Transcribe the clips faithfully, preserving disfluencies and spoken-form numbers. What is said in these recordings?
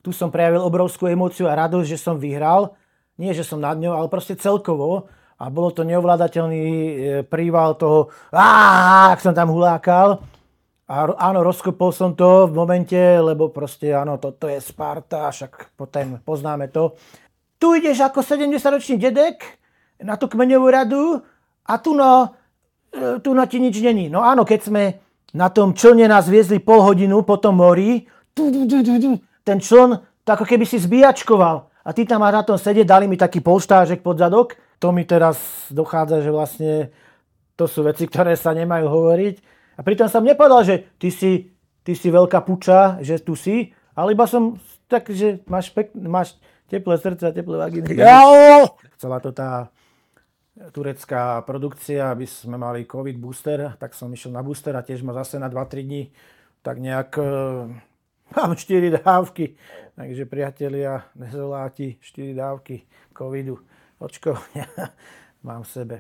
tu som prejavil obrovskú emóciu a radosť, že som vyhral. Nie, že som nad ňou, ale proste celkovo. A bolo to neovládateľný príval toho, ak som tam hulákal. A áno, rozkopol som to v momente, lebo proste áno, toto je Sparta, však potom poznáme to. Tu ideš ako sedemdesiatročný dedek na tú kmeňovú radu a tu no, tu no ti nič není. No áno, keď sme na tom člne nás viezli pol hodinu po tom mori, ten čln to ako keby si zbíjačkoval. A ty tam máš na tom sedieť, dali mi taký polštážek pod zadok. To mi teraz dochádza, že vlastne to sú veci, ktoré sa nemajú hovoriť. A pritom som nepovedal, že ty si, ty si veľká puča, že tu si, ale iba som tak, že máš, pek, máš teplé srdce a teplé vagíny. Chcela to tá turecká produkcia, aby sme mali COVID booster, tak som išiel na booster a tiež ma zase na dva tri dní tak nejak mám štyri dávky. Takže priatelia, nezoláti, štyri dávky covidu, očkovania mám v sebe.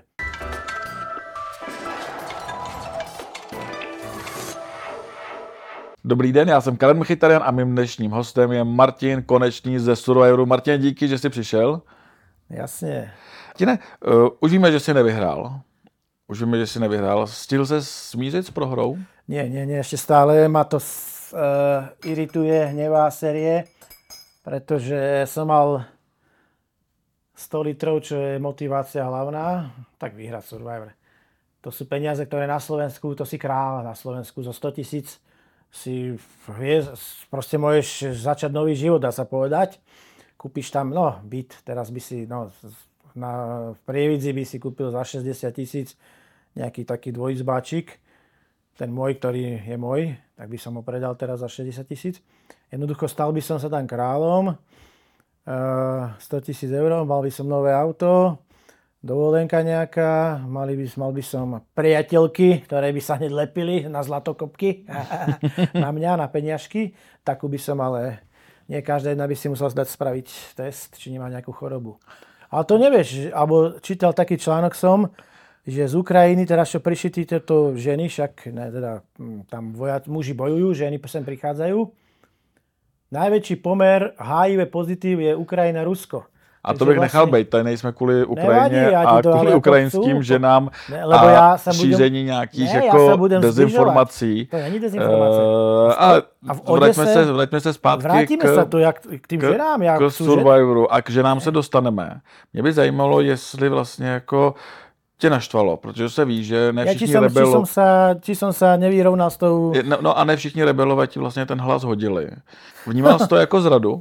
Dobrý den, já jsem Karen Mkhitaryan a mým dnešním hostem je Martin Konečný ze Survivoru. Martin, díky, že jsi přišel. Jasně. Martine, uh, už víme, že jsi nevyhrál. Už víme, že jsi nevyhrál. Stihl se smířit s prohrou? Nie, nie, nie, ešte stále ma to uh, irituje, hnevá série, pretože som mal sto litrov, čo je motivácia hlavná, tak vyhrať Survivor. To sú peniaze, ktoré na Slovensku, to si kráľ na Slovensku, zo sto tisíc si proste môžeš začať nový život, dá sa povedať. Kúpiš tam, no, byt, teraz by si, no, na, v Prievidzi by si kúpil za šesťdesiat tisíc nejaký taký dvojizbáčik. Ten môj, ktorý je môj, tak by som ho predal teraz za šesťdesiat tisíc. Jednoducho stal by som sa tam kráľom. sto tisíc eur, mal by som nové auto, dovolenka nejaká, mali by, mal by som priateľky, ktoré by sa hneď lepili na zlatokopky, na mňa, na peniažky. Takú by som, ale nie každá jedna by si musel dať spraviť test, či nemá nejakú chorobu. Ale to nevieš, alebo čítal taký článok som, že z Ukrajiny, teraz čo prišli tieto ženy, však ne, teda, tam vojac, muži bojujú, ženy sem prichádzajú. Najväčší pomer há í vé pozitív je Ukrajina-Rusko. A to bych vlastně nechal být, tady nejsme kvůli Ukrajině nevadí, a kvůli ukrajinským ženám ne, a já se budem, šíření nějakých ne, jako dezinformací. To není dezinformace. Uh, a a vraťme se, vraťme se zpátky vrátíme k, se to, jak, k tým k, ženám. Jak k Survivoru a k ženám se dostaneme. Mě by zajímalo, jestli vlastně jako tě naštvalo, protože se ví, že ne všichni ja, rebelo... Či som sa, či som sa nevyrovnal s tou... No, no a ne všichni rebelové ti vlastně ten hlas hodili. Vnímal jsi to jako zradu?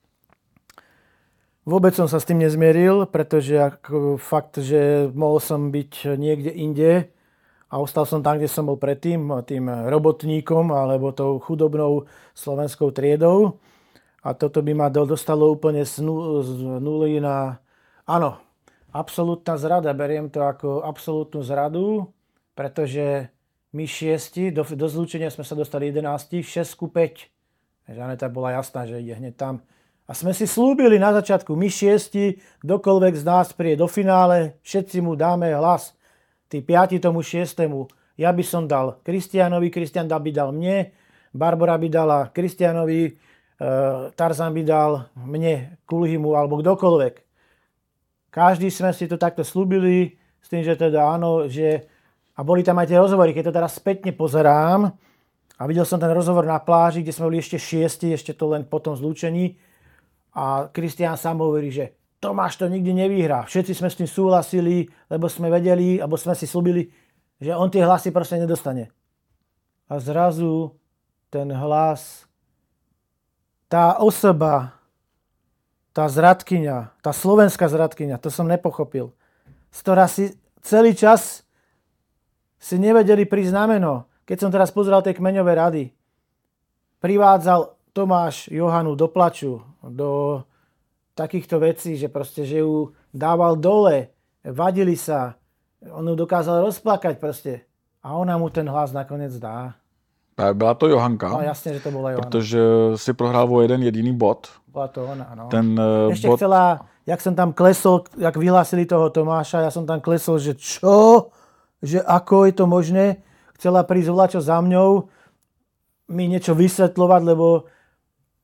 Vôbec som sa s tým nezmieril, pretože ako fakt, že mohol som byť niekde inde a ostal som tam, kde som bol predtým, tým robotníkom alebo tou chudobnou slovenskou triedou. A toto by ma dostalo úplne z nuly na... Áno, absolútna zrada. Beriem to ako absolútnu zradu, pretože my šiesti, do, do zlúčenia sme sa dostali jedenácti, šesť ku päť. Žaneta bola jasná, že ide hneď tam. A sme si slúbili na začiatku, my šiesti, kdokoľvek z nás príde do finále, všetci mu dáme hlas. Tí piati tomu šiestemu. Ja by som dal Kristianovi, Kristian by dal mne, Barbara by dala Kristianovi, e, Tarzan by dal mne, Kulhimu alebo kdokoľvek. Každý sme si to takto slúbili, s tým, že teda áno, že... A boli tam aj tie rozhovory, keď to teraz spätne pozerám a videl som ten rozhovor na pláži, kde sme boli ešte šiesti, ešte to len po tom zlúčení. A Kristián sám hovorí, že Tomáš to nikdy nevyhrá. Všetci sme s tým súhlasili, lebo sme vedeli, alebo sme si slúbili, že on tie hlasy proste nedostane. A zrazu ten hlas, tá osoba, tá zradkyňa, tá slovenská zradkyňa, to som nepochopil, z ktorá si celý čas si nevedeli prísť na meno. Keď som teraz pozeral tie kmeňové rady, privádzal Tomáš Johanu do plaču, do takýchto vecí, že proste, že ju dával dole, vadili sa, on ju dokázal rozplakať proste. A ona mu ten hlas nakoniec dá. Byla to Johanka. No jasne, že to bola Johana. Protože si prohrál o jeden jediný bod. Bola to ona, áno. Ten uh, Ešte bod... chcela, jak som tam klesol, jak vyhlásili toho Tomáša, ja som tam klesol, že čo? Že ako je to možné? Chcela prísť volačo za mňou, mi niečo vysvetľovať, lebo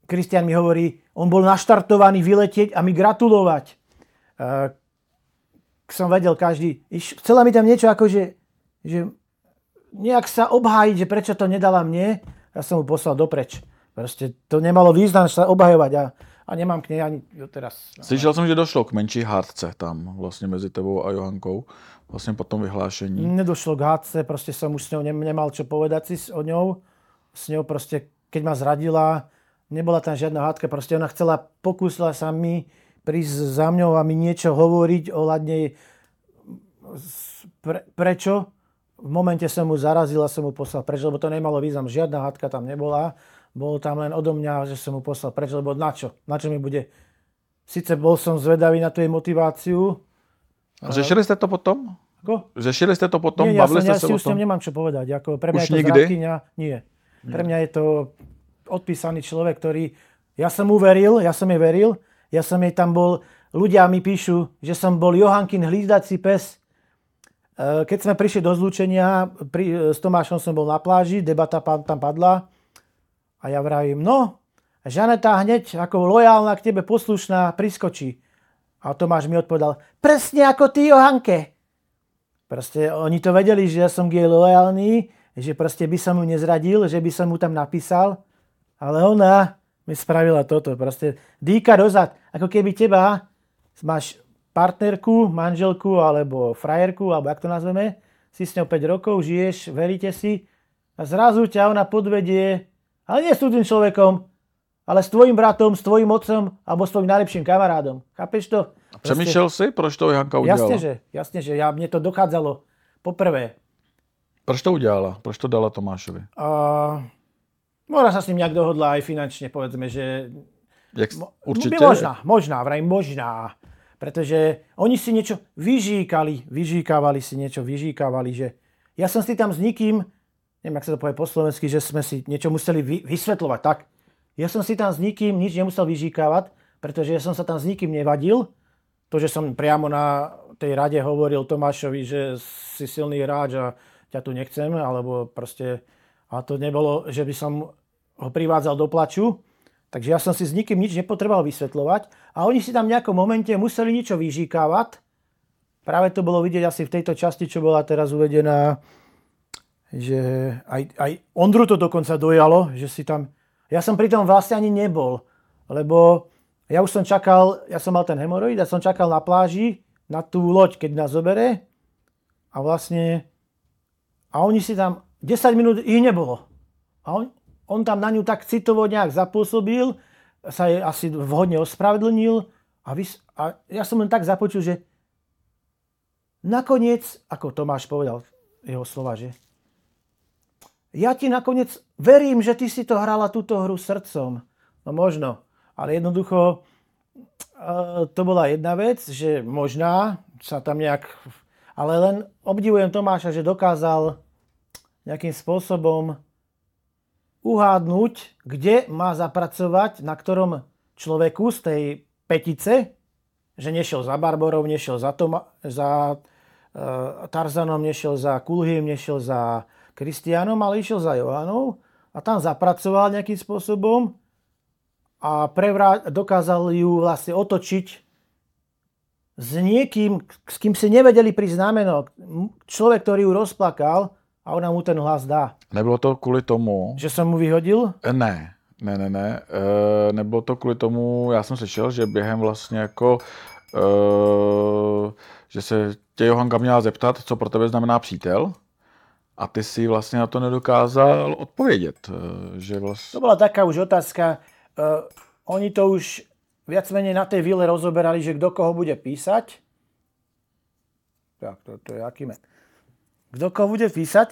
Kristián mi hovorí, on bol naštartovaný vyletieť a mi gratulovať. Uh, som vedel každý. Chcela mi tam niečo ako, že, že nejak sa obhájiť, že prečo to nedala mne. Ja som mu poslal dopreč. Proste to nemalo význam sa obhajovať a, a nemám k nej ani teraz. Slyšel jsem, že došlo k menší hádce tam vlastně mezi tebou a Johankou. Vlastně po tom vyhlášení. Nedošlo k hádce, proste som už s ňou nemal čo povedať si o ňou. S ňou proste, keď ma zradila, nebola tam žiadna hádka. Proste ona chcela, pokúsila sa mi prísť za mňou a mi niečo hovoriť ohľadne pre, prečo. V momente som mu zarazil a som mu poslal preč, lebo to nemalo význam. Žiadna hádka tam nebola. Bolo tam len odo mňa, že som mu poslal preč, lebo na čo? Na čo mi bude? Sice bol som zvedavý na tú jej motiváciu. A řešili ste to potom? Ako? Řešili ste to potom? Nie, ja, Bavili som, ja ste si sa už o s ňou tom? nemám čo povedať. Ako pre mňa Už je to nikdy? zradkyňa. Nie. Pre mňa je to odpísaný človek, ktorý... Ja som mu veril, ja som jej veril. Ja som jej tam bol... Ľudia mi píšu, že som bol Johankin hlídací pes. Keď sme prišli do zlúčenia, pri, s Tomášom som bol na pláži, debata tam padla. A ja vravím, no, Žaneta hneď ako lojálna k tebe poslušná priskočí. A Tomáš mi odpovedal, presne ako ty, Johanke. Proste oni to vedeli, že ja som k jej lojálny, že proste by som mu nezradil, že by som mu tam napísal. Ale ona mi spravila toto. Proste dýka dozad. Ako keby teba máš partnerku, manželku alebo frajerku, alebo jak to nazveme, si s ňou päť rokov, žiješ, veríte si a zrazu ťa ona podvedie, ale nie s tým človekom, ale s tvojim bratom, s tvojim otcom alebo s tvojim najlepším kamarádom. Chápeš to? Přemýšlel si, proč to Janka udělala? Jasne, že, jasne, že ja, mne to dochádzalo poprvé. Proč to udělala? Proč to dala Tomášovi? Uh, možná sa s ním nejak dohodla aj finančne, povedzme, že... Jak, určite? Možná, možná, vraj možná. Pretože oni si niečo vyžíkali, vyžíkavali si niečo, vyžíkavali, že ja som si tam s nikým, neviem, jak sa to povie po slovensky, že sme si niečo museli vy, vysvetľovať, tak. Ja som si tam s nikým nič nemusel vyžíkavať, pretože ja som sa tam s nikým nevadil. To, že som priamo na tej rade hovoril Tomášovi, že si silný hráč a ťa tu nechcem, alebo proste, a to nebolo, že by som ho privádzal do plaču. Takže ja som si s nikým nič nepotreboval vysvetľovať a oni si tam v nejakom momente museli niečo vyžíkávať. Práve to bolo vidieť asi v tejto časti, čo bola teraz uvedená, že aj, aj Ondru to dokonca dojalo, že si tam... Ja som pri tom vlastne ani nebol, lebo ja už som čakal, ja som mal ten hemoroid, ja som čakal na pláži, na tú loď, keď nás zobere a vlastne... A oni si tam... desať minút ich nebolo. A on, on tam na ňu tak citovo nejak zapôsobil, sa jej asi vhodne ospravedlnil a, vys, a ja som len tak započul, že nakoniec, ako Tomáš povedal jeho slova, že ja ti nakoniec verím, že ty si to hrala túto hru srdcom. No možno, ale jednoducho to bola jedna vec, že možná sa tam nejak... Ale len obdivujem Tomáša, že dokázal nejakým spôsobom uhádnuť, kde má zapracovať, na ktorom človeku z tej petice, že nešiel za Barborou, nešiel za, Toma, za uh, Tarzanom, nešiel za Kulhým, nešiel za Kristiánom, ale išiel za Johanou a tam zapracoval nejakým spôsobom a prevrá- dokázal ju vlastne otočiť s niekým, s kým si nevedeli prísť znamenok. Človek, ktorý ju rozplakal a ona mu ten hlas dá. Nebylo to kvůli tomu... Že som mu vyhodil? Ne, ne, ne, ne. E, nebylo to kvůli tomu, já jsem slyšel, že během vlastně jako, e, že se tě Johanka měla zeptat, co pro tebe znamená přítel. A ty si vlastně na to nedokázal odpovědět. Že vlast... To bola taká už otázka. Uh, oni to už viac menej na tej vile rozoberali, že kto koho bude písať. Tak, to, to je aký med. Kto koho bude písať.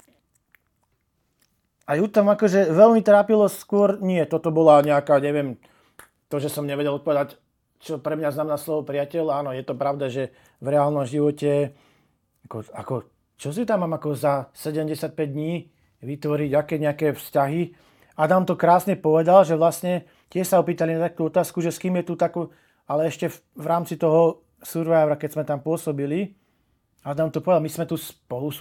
A ju tam akože veľmi trápilo skôr, nie, toto bola nejaká, neviem, to, že som nevedel odpovedať, čo pre mňa znamená slovo priateľ. Áno, je to pravda, že v reálnom živote ako, ako čo si tam mám ako za sedemdesiatpäť dní vytvoriť, aké nejaké vzťahy. Adam to krásne povedal, že vlastne tiež sa opýtali na takú otázku, že s kým je tu takú, ale ešte v, v rámci toho Survivora, keď sme tam pôsobili, Adam to povedal, my sme tu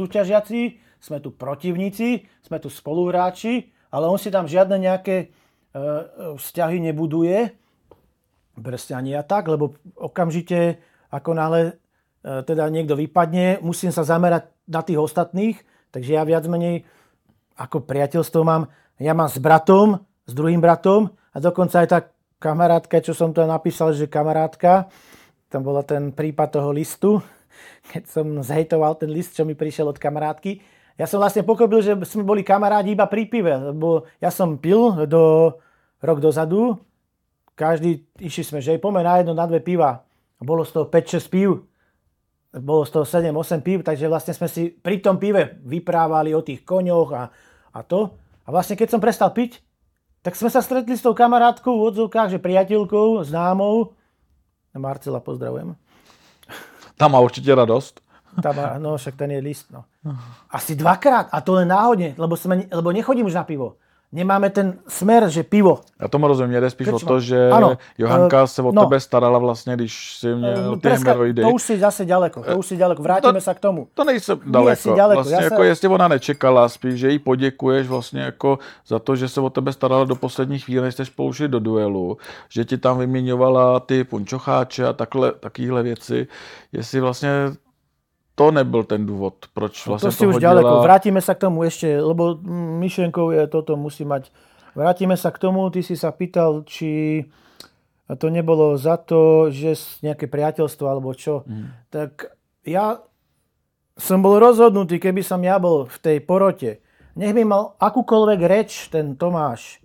spolusúťažiaci, sme tu protivníci, sme tu spoluhráči, ale on si tam žiadne nejaké vzťahy nebuduje. Presne ani ja tak, lebo okamžite, ako náhle teda niekto vypadne, musím sa zamerať na tých ostatných, takže ja viac menej ako priateľstvo mám, ja mám s bratom, s druhým bratom a dokonca aj tá kamarátka, čo som to napísal, že kamarátka, tam bola ten prípad toho listu, keď som zhejtoval ten list, čo mi prišiel od kamarátky. Ja som vlastne pochopil, že sme boli kamarádi iba pri pive, lebo ja som pil do rok dozadu, každý, išli sme, že poďme na jedno, na dve piva. Bolo z toho päť šesť pív, bolo z toho sedem osem pív, takže vlastne sme si pri tom pive vyprávali o tých koňoch a, a to. A vlastne keď som prestal piť, tak sme sa stretli s tou kamarátkou v odzvukách, že priateľkou, známou. Marcela pozdravujem. Tam má určite radosť. Tam má, no však ten je list, no. Asi dvakrát, a to len náhodne, lebo, sme, lebo nechodím už na pivo. Nemáme ten smer, že pivo. Já tomu rozumím, mě jde spíš Krčma. o to, že ano, Johanka se o no. tebe starala vlastně, když si měl ty hemoroidy. To už si zase ďaleko, to už si ďaleko, vrátíme to, sa k tomu. To nejsem daleko. daleko. Vlastně Já jako se... jestli ona nečekala, spíš, že jí poděkuješ vlastně jako za to, že se o tebe starala do poslední chvíle, než jste spolu šli do duelu, že ti tam vyměňovala ty punčocháče a takhle, takovéhle věci, jestli vlastně to nebyl ten důvod, proč vlastně to si už hodila... ďaleko. Vrátime sa k tomu ešte, lebo myšlienkou je toto, musí mať. Vrátime sa k tomu, ty si sa pýtal, či to nebolo za to, že nejaké priateľstvo alebo čo. Mm. Tak ja som bol rozhodnutý, keby som ja bol v tej porote. Nech by mal akúkoľvek reč ten Tomáš,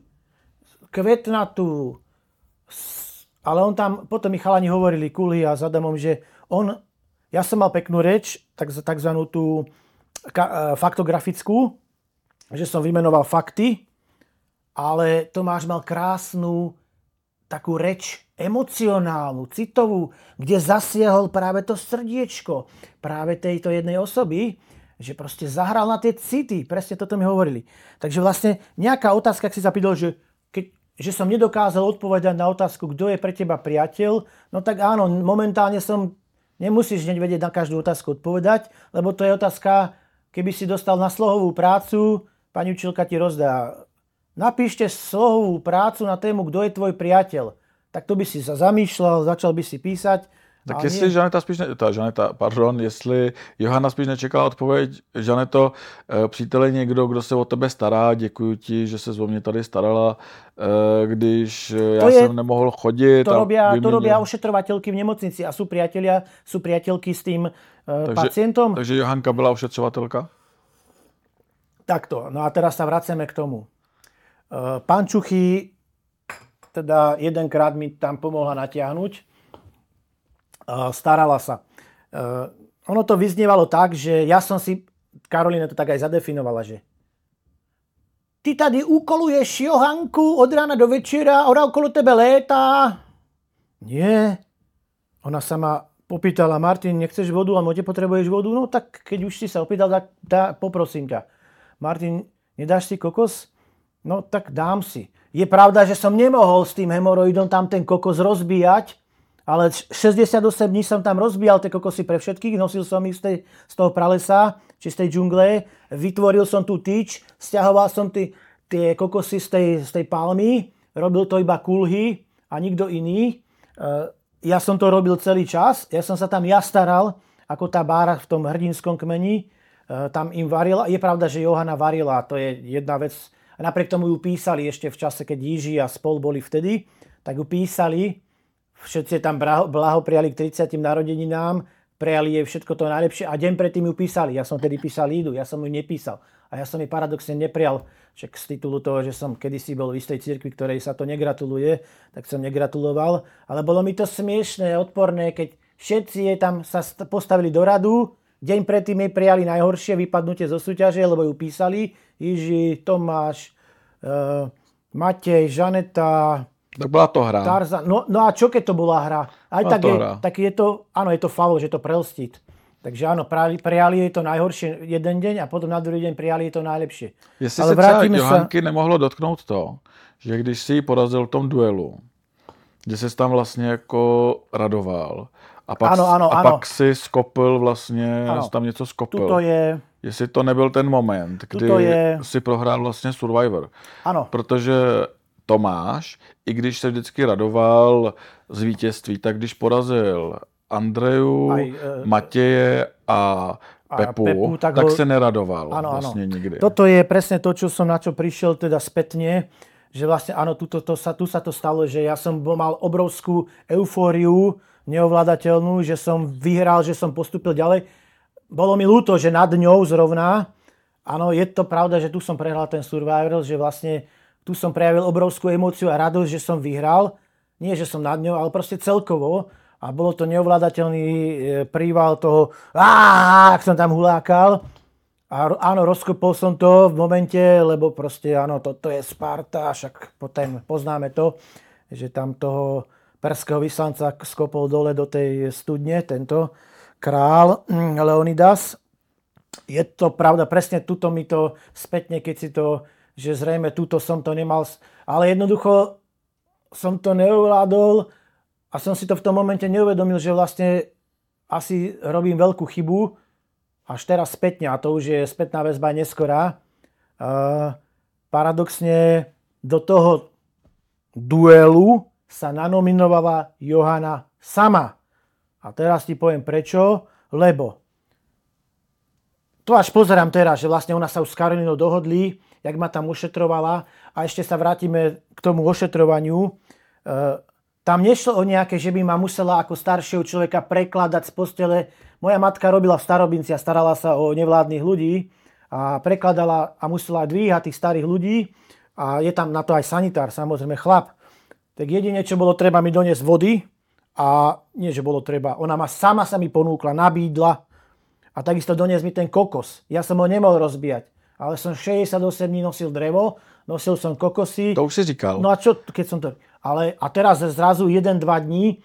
kvetnatú, ale on tam, potom mi chalani hovorili, Kulhy a s Adamom, že on, ja som mal peknú reč, tak, takzvanú tú ka, faktografickú, že som vymenoval fakty, ale Tomáš mal krásnu takú reč emocionálnu, citovú, kde zasiahol práve to srdiečko práve tejto jednej osoby, že proste zahral na tie city. Presne toto mi hovorili. Takže vlastne nejaká otázka, ak si zapýtal, že, keď, že som nedokázal odpovedať na otázku, kto je pre teba priateľ, no tak áno, momentálne som, nemusíš hneď vedieť na každú otázku odpovedať, lebo to je otázka, keby si dostal na slohovú prácu, pani učiteľka ti rozdá, napíšte slohovú prácu na tému, kto je tvoj priateľ. Tak to by si sa zamýšľal, začal by si písať. Tak jestli nie... Žaneta spíš, ne, ta Žaneta, pardon, jestli Johana spíš nečekala odpověď, Žaneto, přítel je někdo, kdo se o tebe stará, děkuji ti, že se o mě tady starala, když já je, jsem nemohl chodit. To robia, vyměnil... to robia ošetrovateľky v nemocnici a sú priatelia, sú priateľky s tým takže, pacientom. Takže Johanka byla ošetřovatelka? Takto, no a teraz sa vraceme k tomu. Pán Čuchy, teda jedenkrát mi tam pomohla natiahnuť, starala sa. Ono to vyznievalo tak, že ja som si, Karolina to tak aj zadefinovala, že ty tady úkoluješ Johanku od rána do večera, ona okolo tebe létá. Nie. Ona sa ma popýtala, Martin, nechceš vodu, alebo nepotrebuješ vodu? No tak keď už si sa opýtal, tak dá, poprosím ťa. Martin, nedáš si kokos? No tak dám si. Je pravda, že som nemohol s tým hemoroidom tam ten kokos rozbíjať, ale šesťdesiatosem dní som tam rozbíjal tie kokosy pre všetkých, nosil som ich z, tej, z toho pralesa, či z tej džungle, vytvoril som tú tyč, stiahoval som tí, tie kokosy z tej, z tej palmy, robil to iba Kulhy a nikto iný. Ja som to robil celý čas, ja som sa tam ja staral, ako tá bára v tom hrdinskom kmeni, tam im varila. Je pravda, že Johana varila, to je jedna vec. A napriek tomu ju písali ešte v čase, keď Jiži a spol boli vtedy, tak ju písali, všetci tam blahopriali k tridsiatym narodeninám, prijali jej všetko to najlepšie a deň predtým ju písali. Ja som tedy písal Lídu, ja som ju nepísal. A ja som jej paradoxne neprijal, však z titulu toho, že som kedysi bol v istej cirkvi, ktorej sa to negratuluje, tak som negratuloval. Ale bolo mi to smiešné, odporné, keď všetci jej tam sa postavili do radu, deň predtým jej prijali najhoršie vypadnutie zo súťaže, lebo ju písali Jiži, Tomáš, uh, Matej, Žaneta. Tak bola to hra. Tarzan. No, no a čo keď to bola hra? Aj tak je, tak je to, áno, je to faul, že to prelstiť. Takže áno, prijali jej to najhoršie jeden deň a potom na druhý deň prijali jej to najlepšie. Jestli se třeba Johanky sa... nemohlo dotknout to, že když si ji porazil v tom duelu, kde ses tam vlastně jako radoval, a pak, ano, ano, a ano. pak si skopil vlastně, ano. tam něco skopil. Tuto je... Jestli to nebyl ten moment, kdy je... si prohrál vlastně Survivor. Ano. Protože Tomáš, i když se vždycky radoval z vítězství, tak když porazil Andreju, Aj, e, Matěje a Pepu, a Pepu tak, tak ho... se neradoval ano, vlastne ano. nikdy. Toto je presne to, čo som na čo prišiel teda spätne, že vlastne áno, tu, to, to sa, tu sa to stalo, že ja som mal obrovskú eufóriu, neovládateľnú, že som vyhral, že som postúpil ďalej. Bolo mi ľúto, že nad ňou zrovna, áno, je to pravda, že tu som prehral ten Survivor, že vlastne tu som prejavil obrovskú emóciu a radosť, že som vyhral. Nie, že som nad ňou, ale proste celkovo. A bolo to neovládateľný príval toho, áááá, ak som tam hulákal. A áno, rozkopol som to v momente, lebo proste áno, toto je Sparta, však potom poznáme to, že tam toho perského vyslanca skopol dole do tej studne, tento král Leonidas. Je to pravda, presne tuto mi to spätne, keď si to, že zrejme tuto som to nemal, ale jednoducho som to neovládol. A som si to v tom momente neuvedomil, že vlastne asi robím veľkú chybu, až teraz spätne, a to už je spätná väzba neskorá. Uh, paradoxne do toho duelu sa nanominovala Johana sama. A teraz ti poviem prečo, lebo to až pozerám teraz, že vlastne ona sa už s Karolínou dohodli, jak ma tam ošetrovala, a ešte sa vrátime k tomu ošetrovaniu. Uh, Tam nešlo o nejaké, že by ma musela ako staršieho človeka prekladať z postele. Moja matka robila v Starobinci a starala sa o nevládnych ľudí a prekladala a musela dvíhať tých starých ľudí. A je tam na to aj sanitár, samozrejme chlap. Tak jedine, čo bolo treba, mi doniesť vody. A nie, že bolo treba. Ona ma sama sa mi ponúkla, nabídla. A takisto doniesť mi ten kokos. Ja som ho nemohol rozbíjať. Ale som šesťdesiatosem dní nosil drevo, nosil som kokosy. To už si říkal. No a čo, keď som to... Ale a teraz zrazu jeden dva dní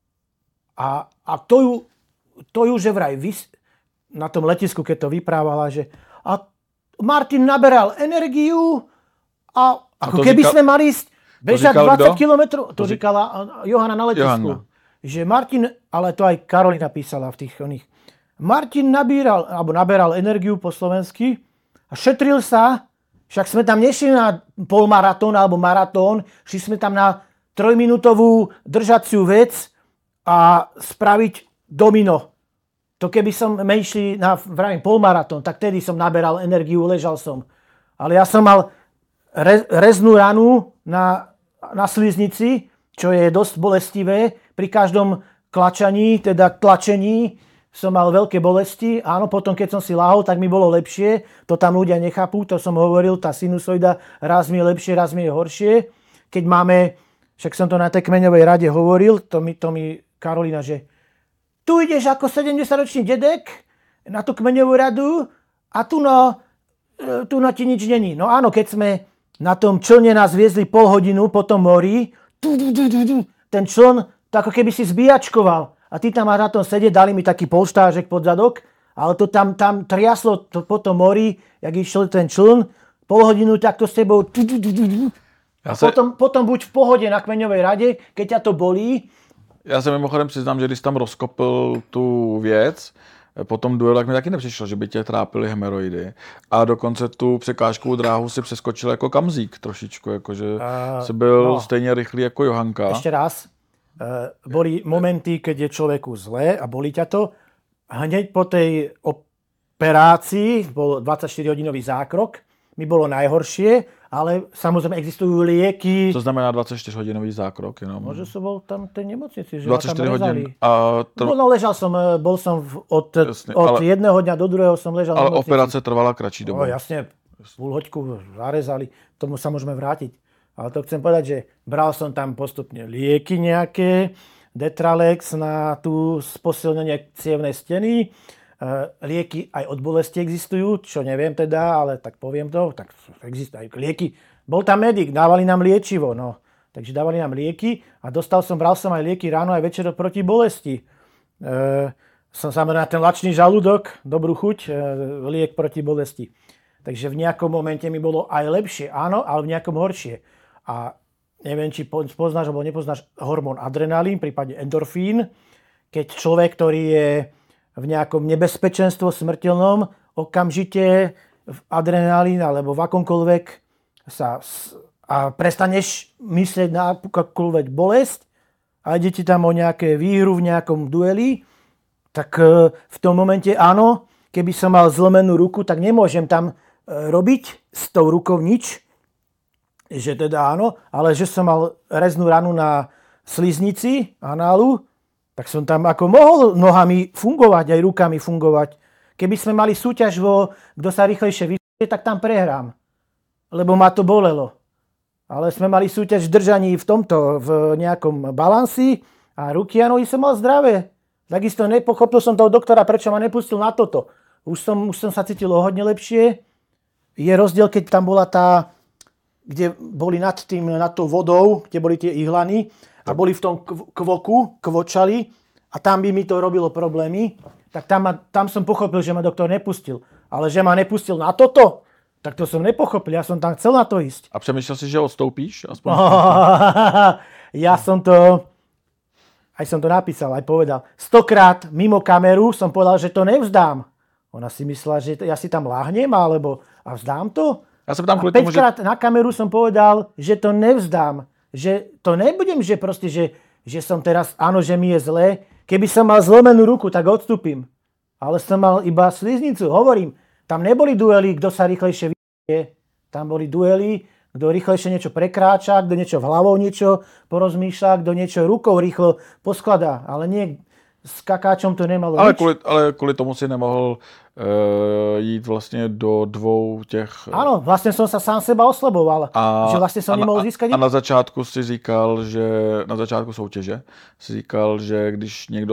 a, a to ju, to ju že vraj vys, na tom letisku, keď to vyprávala, že a Martin naberal energiu a ako a keby říkal, sme mali ísť bežať dvadsať kilometrov. To, to říkala Johana na letisku. Johanna. Že Martin, ale to aj Karolina písala v tých oných. Martin nabíral, alebo naberal energiu po slovensky a šetril sa. Však sme tam nešli na polmaratón alebo maratón, šli sme tam na trojminútovú držaciu vec a spraviť domino. To keby som išli na vravím, polmaratón, tak tedy som naberal energiu, ležal som. Ale ja som mal re, reznú ranu na, na sliznici, čo je dosť bolestivé. Pri každom klačaní, teda tlačení, som mal veľké bolesti. Áno, potom keď som si lahol, tak mi bolo lepšie. To tam ľudia nechápu, to som hovoril, tá sinusoida raz mi je lepšie, raz mi je horšie. Keď máme, však som to na tej kmeňovej rade hovoril, to mi, to mi Karolina, že tu ideš ako sedemdesiatročný dedek na tú kmeňovú radu a tu no, tu no ti nič není. No áno, keď sme na tom člne nás viezli pol hodinu po tom mori, ten čln to ako keby si zbíjačkoval. A ty tam máš na tom sedieť, dali mi taký polštážek pod zadok, ale to tam, tam triaslo to po tom mori, jak išiel ten čln, pol hodinu takto s tebou. A ja potom, se... potom buď v pohode na kmeňovej rade, keď ťa to bolí. Já se mimochodem přiznám, že když tam rozkopil tu věc, po tom duelu, tak mi taky nepřišlo, že by tě trápily hemeroidy. A dokonce tu překážkovou dráhu si přeskočil jako kamzík trošičku, jakože uh, jsi byl no. stejně rychlý jako Johanka. Ešte raz. Uh, boli momenty, keď je človeku zle a bolí ťa to. Hneď po tej operácii, bol dvadsaťštyrihodinový zákrok, mi bolo najhoršie, ale samozrejme existujú lieky. Co znamená dvadsaťštyrihodinový zákrok? Jenom? Možno som bol tam v tej nemocnici, že dvadsaťštyri ma tam hodín. A to... no, no ležal som, bol som v, od, jasne, od ale... jedného dňa do druhého som ležal ale v nemocnici. Ale operace trvala kratší dobu. No jasne, púl hoďku zarezali, tomu sa môžeme vrátiť. Ale to chcem povedať, že bral som tam postupne lieky nejaké, Detralex na tú posilnenie cievnej steny, lieky aj od bolesti existujú, čo neviem teda, ale tak poviem to, tak existujú lieky. Bol tam medic, dávali nám liečivo, no. Takže dávali nám lieky a dostal som, bral som aj lieky ráno aj večer proti bolesti. E, som samozrejme na ten lačný žalúdok, dobrú chuť, e, liek proti bolesti. Takže v nejakom momente mi bolo aj lepšie, áno, ale v nejakom horšie. A neviem, či poznáš alebo nepoznáš hormón adrenalín, prípadne endorfín, keď človek, ktorý je v nejakom nebezpečenstve smrteľnom, okamžite v adrenalín alebo v akomkoľvek sa a prestaneš myslieť na akúkoľvek bolesť a ide ti tam o nejaké výhru v nejakom dueli, tak v tom momente áno, keby som mal zlomenú ruku, tak nemôžem tam robiť s tou rukou nič, že teda áno, ale že som mal reznú ranu na sliznici análu, tak som tam ako mohol nohami fungovať, aj rukami fungovať. Keby sme mali súťaž vo, kto sa rýchlejšie vyššie, tak tam prehrám. Lebo ma to bolelo. Ale sme mali súťaž v držaní v tomto, v nejakom balansi a ruky a nohy som mal zdravé. Takisto nepochopil som toho doktora, prečo ma nepustil na toto. Už som, už som sa cítil o hodne lepšie. Je rozdiel, keď tam bola tá, kde boli nad tým, nad tou vodou, kde boli tie ihlany a boli v tom kvoku, kvočali a tam by mi to robilo problémy. Tak tam, ma, tam som pochopil, že ma doktor nepustil. Ale že ma nepustil na toto, tak to som nepochopil. Ja som tam chcel na to ísť. A přemýšlel si, že odstoupíš? Aspoň... ja som to, aj som to napísal, aj povedal. Stokrát mimo kameru som povedal, že to nevzdám. Ona si myslela, že ja si tam láhnem, alebo a vzdám to. Ja som tam a päťkrát že... na kameru som povedal, že to nevzdám. Že to nebudem, že proste, že, že som teraz, áno, že mi je zlé. Keby som mal zlomenú ruku, tak odstúpim. Ale som mal iba sliznicu. Hovorím, tam neboli duely, kto sa rýchlejšie vyjde. Tam boli duely, kto rýchlejšie niečo prekráča, kto niečo hlavou niečo porozmýšľa, kto niečo rukou rýchlo poskladá. Ale nie, s kakáčom to nemalo ale nič. Kvůli, ale kvůli tomu si nemohl uh, jít vlastně do dvou těch... Áno, vlastne som sa sám seba oslaboval. A, že vlastne som nemohol získať... A na začátku si říkal, že na začátku soutěže si říkal, že když někdo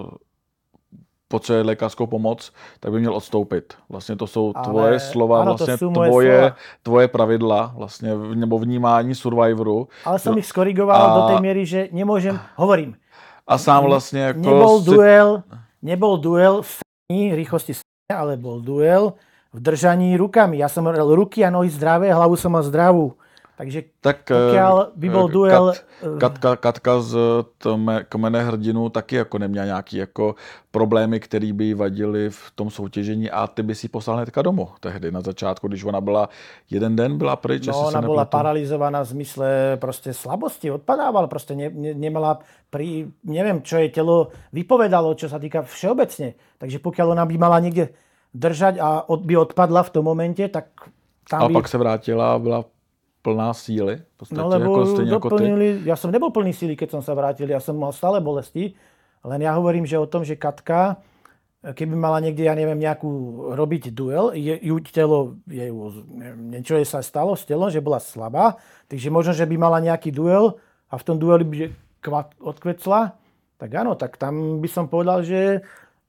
potřebuje lékařskou pomoc, tak by měl odstoupit. Vlastně to jsou tvoje ale, slova, ano, vlastně tvoje, slova. tvoje pravidla, vlastně, nebo vnímání survivoru. Ale som ich skorigoval a... do tej miery, že nemôžem, hovorím. A sám vlastně jako... Nebol si... duel, nebol duel v rýchlosti, ale bol duel v držaní rukami. Ja som mal ruky a nohy zdravé, hlavu som mal zdravú. Takže tak, pokiaľ by bol duel... Kat, Katka, Katka z tme, Kmene hrdinů taky jako neměla nějaký jako problémy, které by jí vadily v tom soutěžení a ty by si poslal hnedka domů tehdy na začátku, když ona byla jeden den byla pryč. No ona bola paralizovaná v zmysle proste slabosti, odpadávala, proste ne, ne, nemala pri, neviem, čo jej telo vypovedalo, čo sa týka všeobecne. Takže pokiaľ ona by mala niekde držať a od, by odpadla v tom momente, tak tam a by... pak se vrátila a byla plná síly. V podstate, no lebo ako doplnili, ako ja som nebol plný síly, keď som sa vrátil, ja som mal stále bolesti, len ja hovorím, že o tom, že Katka, keby mala niekde, ja neviem, nejakú robiť duel, je, ju telo, je, niečo jej sa stalo s telom, že bola slabá, takže možno, že by mala nejaký duel a v tom dueli by odkvecla, tak áno, tak tam by som povedal, že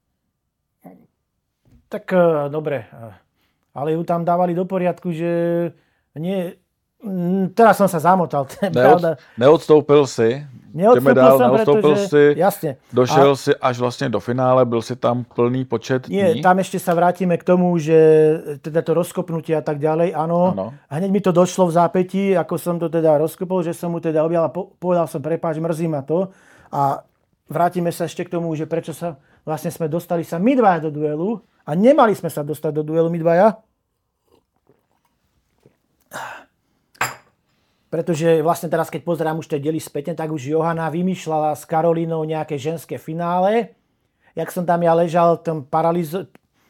tak dobre, ale ju tam dávali do poriadku, že nie. Teraz som sa zamotal, to je Neod, pravda. Neodstoupil si, neodstoupil dál, som, neodstoupil pretože, si, jasne. došel A, si až vlastne do finále, byl si tam plný počet dní. Nie, tam ešte sa vrátime k tomu, že teda to rozkopnutie a tak ďalej, áno. Ano. Hneď mi to došlo v zápätí, ako som to teda rozkopol, že som mu teda objal a po, povedal som, prepáč, mrzí ma to. A vrátime sa ešte k tomu, že prečo sa vlastne sme dostali sa my dvaja do duelu a nemali sme sa dostať do duelu my dvaja. Pretože vlastne teraz, keď pozerám už tie diely spätne, tak už Johana vymýšľala s Karolínou nejaké ženské finále. Jak som tam ja ležal, tam paralizo...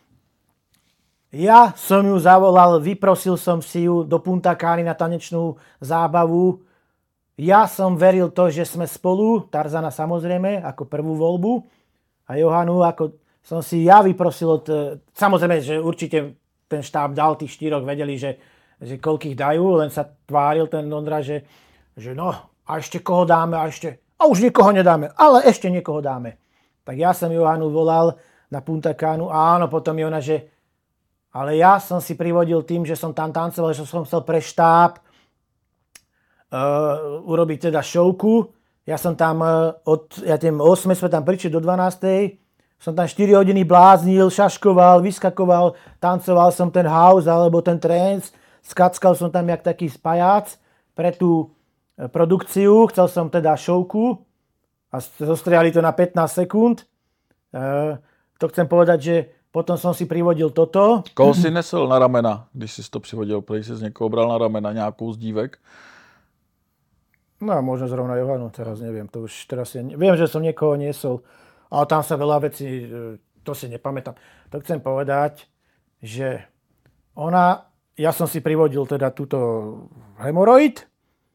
Ja som ju zavolal, vyprosil som si ju do Punta Cany na tanečnú zábavu. Ja som veril to, že sme spolu, Tarzana samozrejme, ako prvú voľbu. A Johanu, ako som si ja vyprosil od... Samozrejme, že určite ten štáb dal, tých štyroch vedeli, že že koľkých dajú, len sa tváril ten Ondra, že, že no, a ešte koho dáme, a ešte, a už nikoho nedáme, ale ešte niekoho dáme. Tak ja som Johanu volal na Punta Canu a áno, potom je ona, že ale ja som si privodil tým, že som tam tancoval, že som chcel pre štáb uh, urobiť teda šovku. Ja som tam uh, od, ja tým osem sme tam prišli do dvanástej, som tam štyri hodiny bláznil, šaškoval, vyskakoval, tancoval som ten house alebo ten trance. Skackal som tam jak taký spajác pre tú produkciu. Chcel som teda šovku a zostriali to na pätnásť sekúnd. E, to chcem povedať, že potom som si privodil toto. Koho si nesl na ramena, když si to přivodil? Prej si z někoho bral na ramena, nějakou z dívek? No možno zrovna Johanu, teraz neviem. To už teraz je, viem, že som niekoho niesol, ale tam sa veľa vecí, to si nepamätám. To chcem povedať, že ona, ja som si privodil teda túto hemoroid,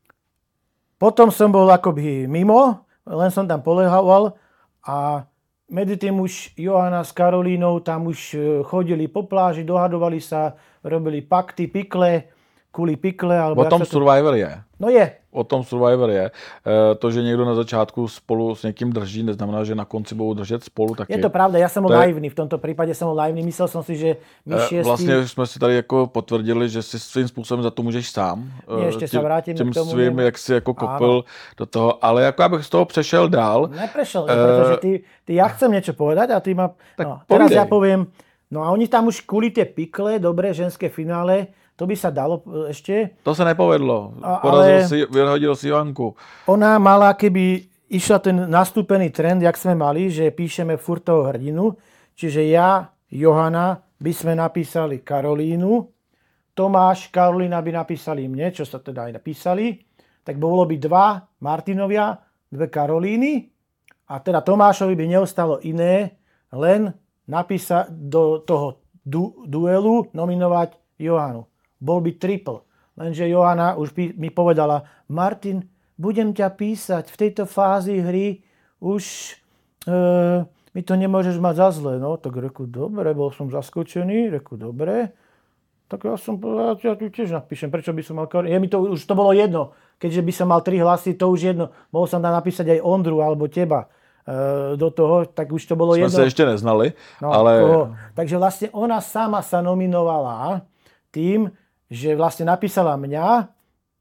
potom som bol akoby mimo, len som tam polehával a medzi tým už Johana s Karolínou tam už chodili po pláži, dohadovali sa, robili pakty, pikle, kuli pikle. Alebo o tom to... Survivor je. No je. O tom Survivor je. E, to, že někdo na začátku spolu s někým drží, neznamená, že na konci budou držet spolu taky. Je to pravda, ja som bol to naivný, v tomto prípade som bol naivný, myslel som si, že my e, šiestí... Vlastně jsme si tady jako potvrdili, že si svým způsobem za to můžeš sám. Nie, ešte sa vrátim tím k tomu. svým, jak si jako kopil do toho, ale jako abych z toho přešel dál. Neprešel, e... pretože ty, ty, ja chcem niečo povedať a ty ma... Tak no, teraz ja poviem, no a oni tam už kvôli tie pikle, dobré ženské finále, to by sa dalo ešte. To sa nepovedlo. A, Porazil si, vyhodil si Johanku. Ona mala, keby išla ten nastúpený trend, jak sme mali, že píšeme furt toho hrdinu. Čiže ja, Johana, by sme napísali Karolínu. Tomáš, Karolína by napísali mne, čo sa teda aj napísali. Tak bolo by dva Martinovia, dve Karolíny. A teda Tomášovi by neostalo iné, len napísať do toho du- duelu, nominovať Johanu. Bol by triple. Lenže Johana už mi povedala, Martin, budem ťa písať v tejto fázi hry, už e, mi to nemôžeš mať za zle. No, tak reku, dobre, bol som zaskočený, reku, dobre. Tak ja som povedal, ja tu tiež napíšem, prečo by som mal... Je mi to, už to bolo jedno, keďže by som mal tri hlasy, to už jedno. Mohol som tam napísať aj Ondru alebo teba e, do toho, tak už to bolo Sme jedno. Sme sa ešte neznali, no, ale... Toho. Takže vlastne ona sama sa nominovala tým, že vlastne napísala mňa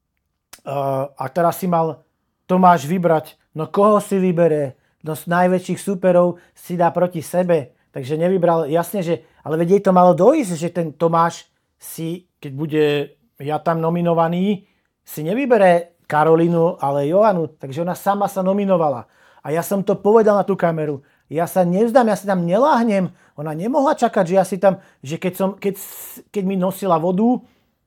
uh, a teraz si mal Tomáš vybrať, no koho si vybere, no z najväčších súperov si dá proti sebe, takže nevybral, jasne, že, ale veď jej to malo dojsť, že ten Tomáš si, keď bude ja tam nominovaný, si nevybere Karolínu, ale Johanu, takže ona sama sa nominovala. A ja som to povedal na tú kameru, ja sa nevzdám, ja si tam neláhnem, ona nemohla čakať, že ja si tam, že keď, som, keď, keď mi nosila vodu,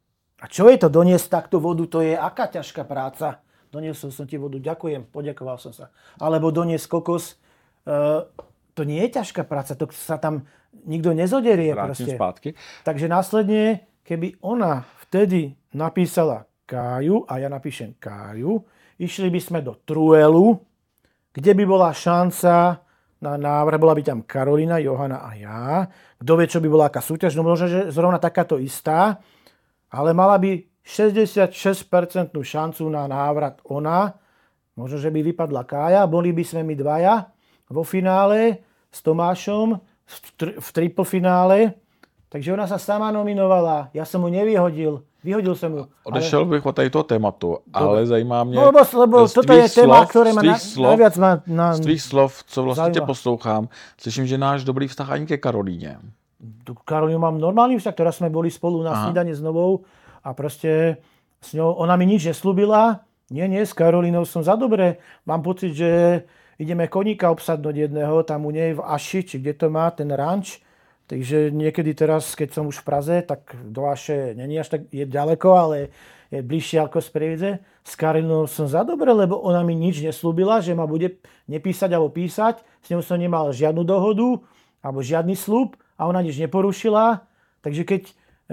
a čo je to doniesť takto vodu? To je aká ťažká práca. Doniesol som ti vodu, ďakujem, poďakoval som sa. Alebo doniesť kokos, uh, to nie je ťažká práca, to sa tam nikto nezoderie. Vrátim proste. Zpátky. Takže následne, keby ona vtedy napísala Káju a ja napíšem Káju, išli by sme do Truelu, kde by bola šanca na návrh, bola by tam Karolína, Johana a ja. Kto vie, čo by bola aká súťaž, no možno, že zrovna takáto istá. Ale mala by šesťdesiatšesť percent šancu na návrat ona. Možno, že by vypadla Kája. Boli by sme my dvaja vo finále s Tomášom v, tri- v triple finále. Takže ona sa sama nominovala. Ja som mu nevyhodil. Vyhodil som ju. Odešel ale... bych od tohto tématu, ale zajímá mě... No, lebo, lebo toto je téma, ktoré ma na, slov, najviac má... Na, z tvých slov, co vlastně tě zajímá. poslouchám, slyším, že náš dobrý vztah ani ke Karolíně. Karolínu mám normálny vzťah, ktorá sme boli spolu na snídane s Novou a proste s ňou, ona mi nič neslúbila. Nie, nie, s Karolínou som za dobre. Mám pocit, že ideme koníka obsadnúť jedného, tam u nej v Aši, či kde to má, ten ranč. Takže niekedy teraz, keď som už v Praze, tak do Aše není až tak je ďaleko, ale je bližšie ako z Prievidze. S Karolínou som za dobre, lebo ona mi nič neslúbila, že ma bude nepísať alebo písať. S ňou som nemal žiadnu dohodu alebo žiadny sľub. A ona nič neporušila, takže keď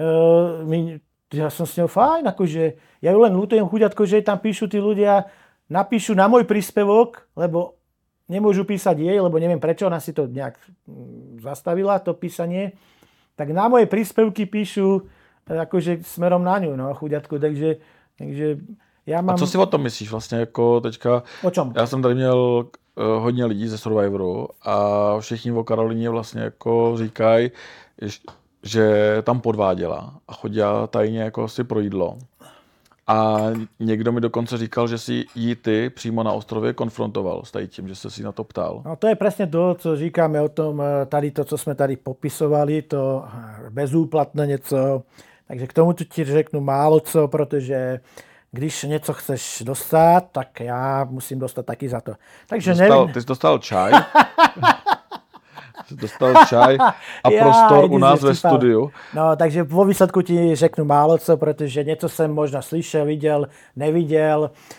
uh, my, ja som s ňou fajn, akože ja ju len ľutujem chuďatko, že tam píšu tí ľudia, napíšu na môj príspevok, lebo nemôžu písať jej, lebo neviem prečo, ona si to nejak zastavila, to písanie, tak na moje príspevky píšu akože smerom na ňu, no chuďatko, takže, takže ja mám... A co si o tom myslíš vlastně jako teďka? O čom? Já jsem tady měl hodně lidí ze Survivoru a všichni o Karolíně vlastně jako říkají, že tam podváděla a chodila tajně jako si pro jídlo. A někdo mi dokonce říkal, že si jí ty přímo na ostrově konfrontoval s tím, že se si na to ptal. No to je presne to, co říkáme o tom, tady to, co sme tady popisovali, to bezúplatné něco. Takže k tomu ti řeknu málo co, protože když něco chceš dostat, tak já musím dostat taky za to. Takže dostal, nevím. Ty jsi dostal čaj. Jsi dostal čaj a Já, prostor u nás ve studiu. No, takže vo výsledku ti řeknu málo co, protože něco jsem možná slyšel, viděl, neviděl.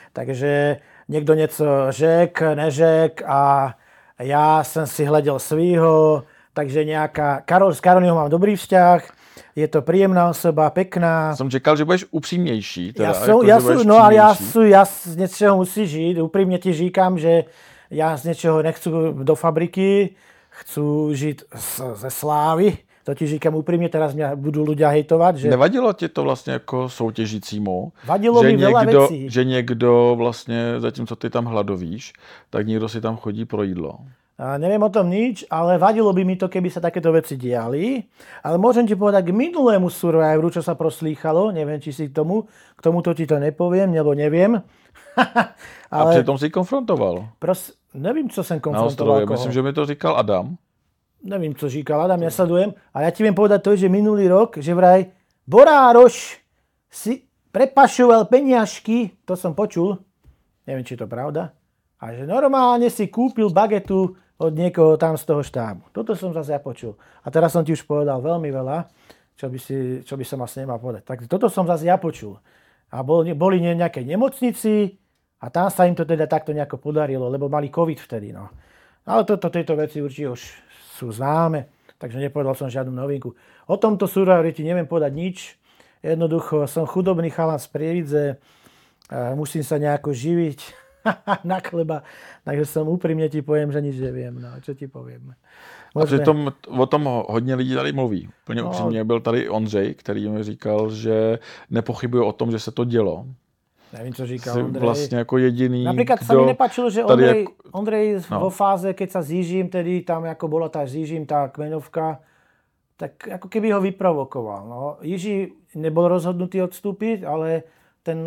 Takže niekto něco řek, neřek a já jsem si hleděl svýho, takže nejaká... Karol, s Karolínou mám dobrý vzťah, je to príjemná osoba, pekná. Jsem čekal, že budeš upřímnější. Teda, ja som, jako, ja že budeš som, no ale ja, přímější. sú, ja z niečoho musí žiť. Úprimne ti říkám, že ja z niečoho nechcú do fabriky, chcú žiť z, ze slávy. To ti říkám úprimne, teraz mňa budú ľudia hejtovať. Že... Nevadilo ti to vlastně jako soutěžícímu? Vadilo že mi veľa někdo, vecí. že někdo vlastně, zatímco ty tam hladovíš, tak někdo si tam chodí pro jídlo. A neviem o tom nič, ale vadilo by mi to, keby sa takéto veci diali. Ale môžem ti povedať k minulému Survivoru, čo sa proslýchalo. Neviem, či si k tomu, k tomuto ti to nepoviem, nebo neviem. Ale... A přitom si konfrontoval. Pros... Nevím, co jsem Na konfrontoval. ostrově. Koho. Myslím, že mi to říkal Adam. Nevím, co říkal Adam, nesledujem. Ale ja ti viem povedať to, že minulý rok, že vraj Borároš si prepašoval peniažky, to som počul, neviem, či je to pravda, a že normálne si kúpil bagetu od niekoho tam z toho štábu. Toto som zase ja počul. A teraz som ti už povedal veľmi veľa, čo by, si, čo by som asi nemal povedať. Tak toto som zase ja počul. A bol, boli v nejakej nemocnici a tam sa im to teda takto nejako podarilo, lebo mali COVID vtedy. No. Ale toto, tieto veci určite už sú známe, takže nepovedal som žiadnu novinku. O tomto Survivori ti neviem povedať nič. Jednoducho som chudobný chalan z Prievidze, musím sa nejako živiť na chleba, takže som úprimne ti poviem, že nič neviem. No, čo ti poviem. Možná... A přitom o tom hodně lidí tady mluví. Plně no. upřímně byl tady Ondřej, který mi říkal, že nepochybuje o tom, že se to dělo. Nevím, co říkal Jsi Ondrej. vlastně jako jediný, Napríklad kdo... sa mi nepáčilo, že Ondrej, jak... Ondrej no. vo fáze, keď sa zížim, tedy tam ako bola tá zížim, tá kmenovka, tak ako keby ho vyprovokoval. No. Jiří nebol rozhodnutý odstúpiť, ale ten...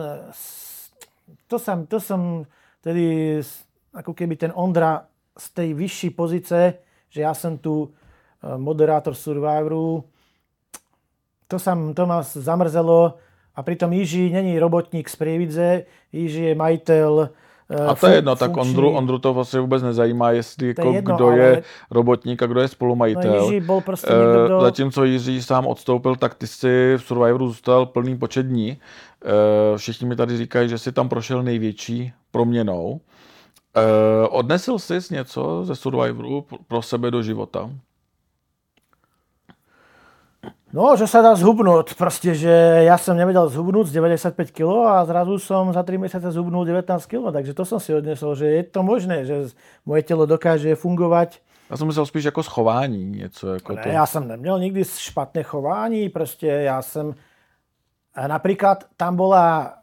To som, to som tedy ako keby ten Ondra z tej vyššej pozice, že ja som tu moderátor Survivoru, to, sam, to ma zamrzelo. A pritom Jiří není robotník z Prievidze, Jiří je majitel. A to je jedno, tak Ondru, Ondru to vlastně vůbec nezajímá, jestli jako je jedno, kdo ale... je robotník a kdo je spolumajitel. No, Jiří bol prostě někdo, kdo... Zatímco Jiří sám odstoupil, tak ty si v Survivoru zůstal plný počet dní. Všichni mi tady říkají, že si tam prošel největší proměnou. Odnesl jsi něco ze Survivoru pro sebe do života? No, že sa dá zhubnúť. Proste, že ja som nevedel zhubnúť z deväťdesiatpäť kilogramov a zrazu som za tri mesiace zhubnul devätnásť kilogramov. Takže to som si odnesol, že je to možné, že moje telo dokáže fungovať. Já jsem myslel spíš jako schování, něco jako to. Ne, ja som neměl nikdy špatné chování, proste ja som... Napríklad tam bola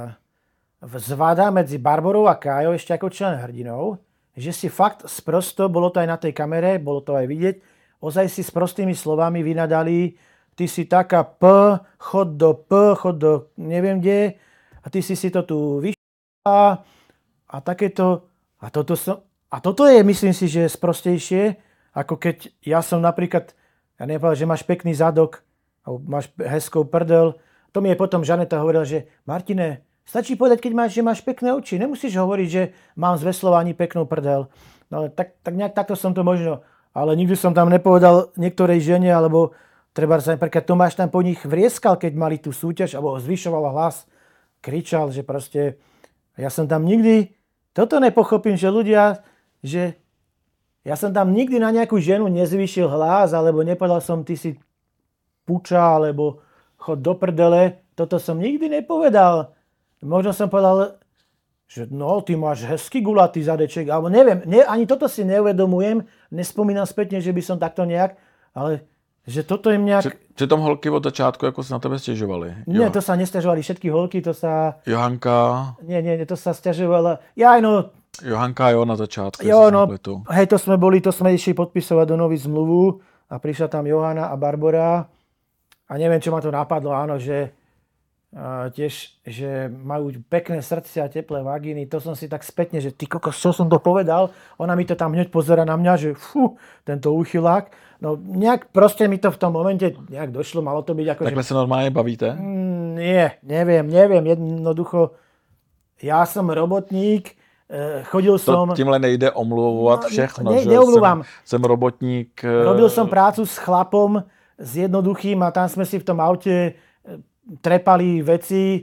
zvada medzi Barborou a Kájou ešte ako člen hrdinov, že si fakt sprosto, bolo to aj na tej kamere, bolo to aj vidieť, ozaj si s prostými slovami vynadali: ty si taká P, chod do P, chod do neviem kde, a ty si si to tu vyšla a takéto. A toto, som, a toto je, myslím si, že je sprostejšie, ako keď ja som napríklad, ja neviem, že máš pekný zadok, alebo máš hezkou prdel. To mi je potom Žaneta hovorila, že Martine, stačí povedať, keď máš, že máš pekné oči. Nemusíš hovoriť, že mám z veslova ani peknú prdel. No tak, tak nejak takto som to možno, ale nikdy som tam nepovedal niektorej žene, alebo treba sa napríklad Tomáš tam po nich vrieskal, keď mali tú súťaž, alebo zvyšoval hlas, kričal, že proste, ja som tam nikdy, toto nepochopím, že ľudia, že ja som tam nikdy na nejakú ženu nezvyšil hlas, alebo nepovedal som, ty si puča, alebo chod do prdele, toto som nikdy nepovedal. Možno som povedal, že no, ty máš hezký gulatý zadeček, alebo neviem, ne, ani toto si neuvedomujem, nespomínam spätne, že by som takto nejak, ale že toto im nejak... Přitom holky od začátku jako se na tebe stěžovali. Nie, jo. To sa nesťažovali všetky holky, to sa... Johanka... Nie, nie, to sa sťažovala... Ja, no... Johanka, jo, na začátku. Jo, no, hej, to sme boli, to sme išli podpisovať do nový zmluvu a prišla tam Johana a Barbora a neviem, čo ma to napadlo, áno, že uh, tiež, že majú pekné srdcia a teplé vagíny, to som si tak spätne, že ty kokos, čo som to povedal? Ona mi to tam hneď pozera na mňa, že fú, tento úchylák. No nejak proste mi to v tom momente nejak došlo, malo to byť ako... Takhle že... sa normálne bavíte? Mm, nie, neviem, neviem, jednoducho, ja som robotník, chodil som... To tímhle nejde omluvovat všechno, ne, že neomluvám. Jsem, jsem robotník... Robil som prácu s chlapom, s jednoduchým a tam sme si v tom aute trepali veci.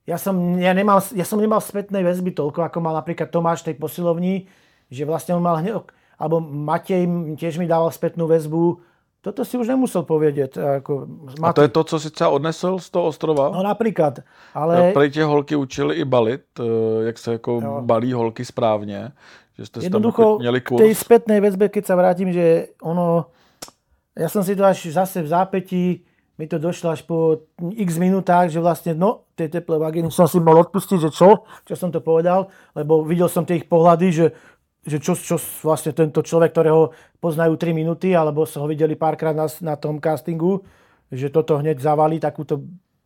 ja som, ja, nemal, ja som nemal spätnej väzby toľko, ako mal napríklad Tomáš tej posilovni, že vlastne on mal hneď, alebo Matej tiež mi dával spätnú väzbu. Toto si už nemusel povedať. Ako a to je to, co si třeba odnesl z toho ostrova? No napríklad. Ale... Prej tě holky učili i balit, jak se jako jo. balí holky správně. Že ste jednoducho, měli kurz. K tej spätnej väzbe, keď sa vrátim, že ono... Ja som si to až zase v zápätí, mi to došlo až po x minútach, že vlastne, no, tej teplé vagíny som si mal odpustiť, že čo? Čo som to povedal? Lebo videl som tie ich pohľady, že že čo, čo vlastne tento človek, ktorého poznajú tri minúty, alebo sa ho videli párkrát na, na tom castingu, že toto hneď zavalí takúto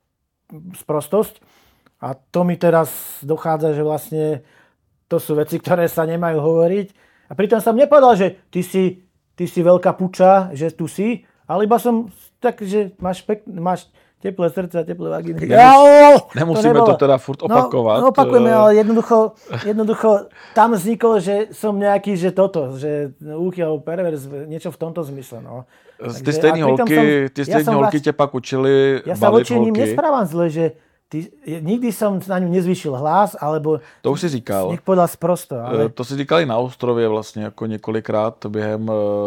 sprostosť. A to mi teraz dochádza, že vlastne to sú veci, ktoré sa nemajú hovoriť. A pritom som nepovedal, že ty si, ty si veľká puča, že tu si, ale iba som tak, že máš, pek, máš teplé srdce a teplé vagíny. Nemus- nemusíme to, to teda furt opakovat. No, opakujeme, ale jednoducho, jednoducho tam vzniklo, že som nejaký, že toto, že úchy alebo pervers, niečo v tomto zmysle. No. Ty stejný holky, som, ty stejný ja holky vlast... ťa pak učili ja balit holky. Ja sa voči ním nesprávam zle, že ty, nikdy som na ňu nezvýšil hlas, alebo... To už si říkal. Nech povedal sprosto. Ale... To si říkali na ostrově vlastně jako několikrát během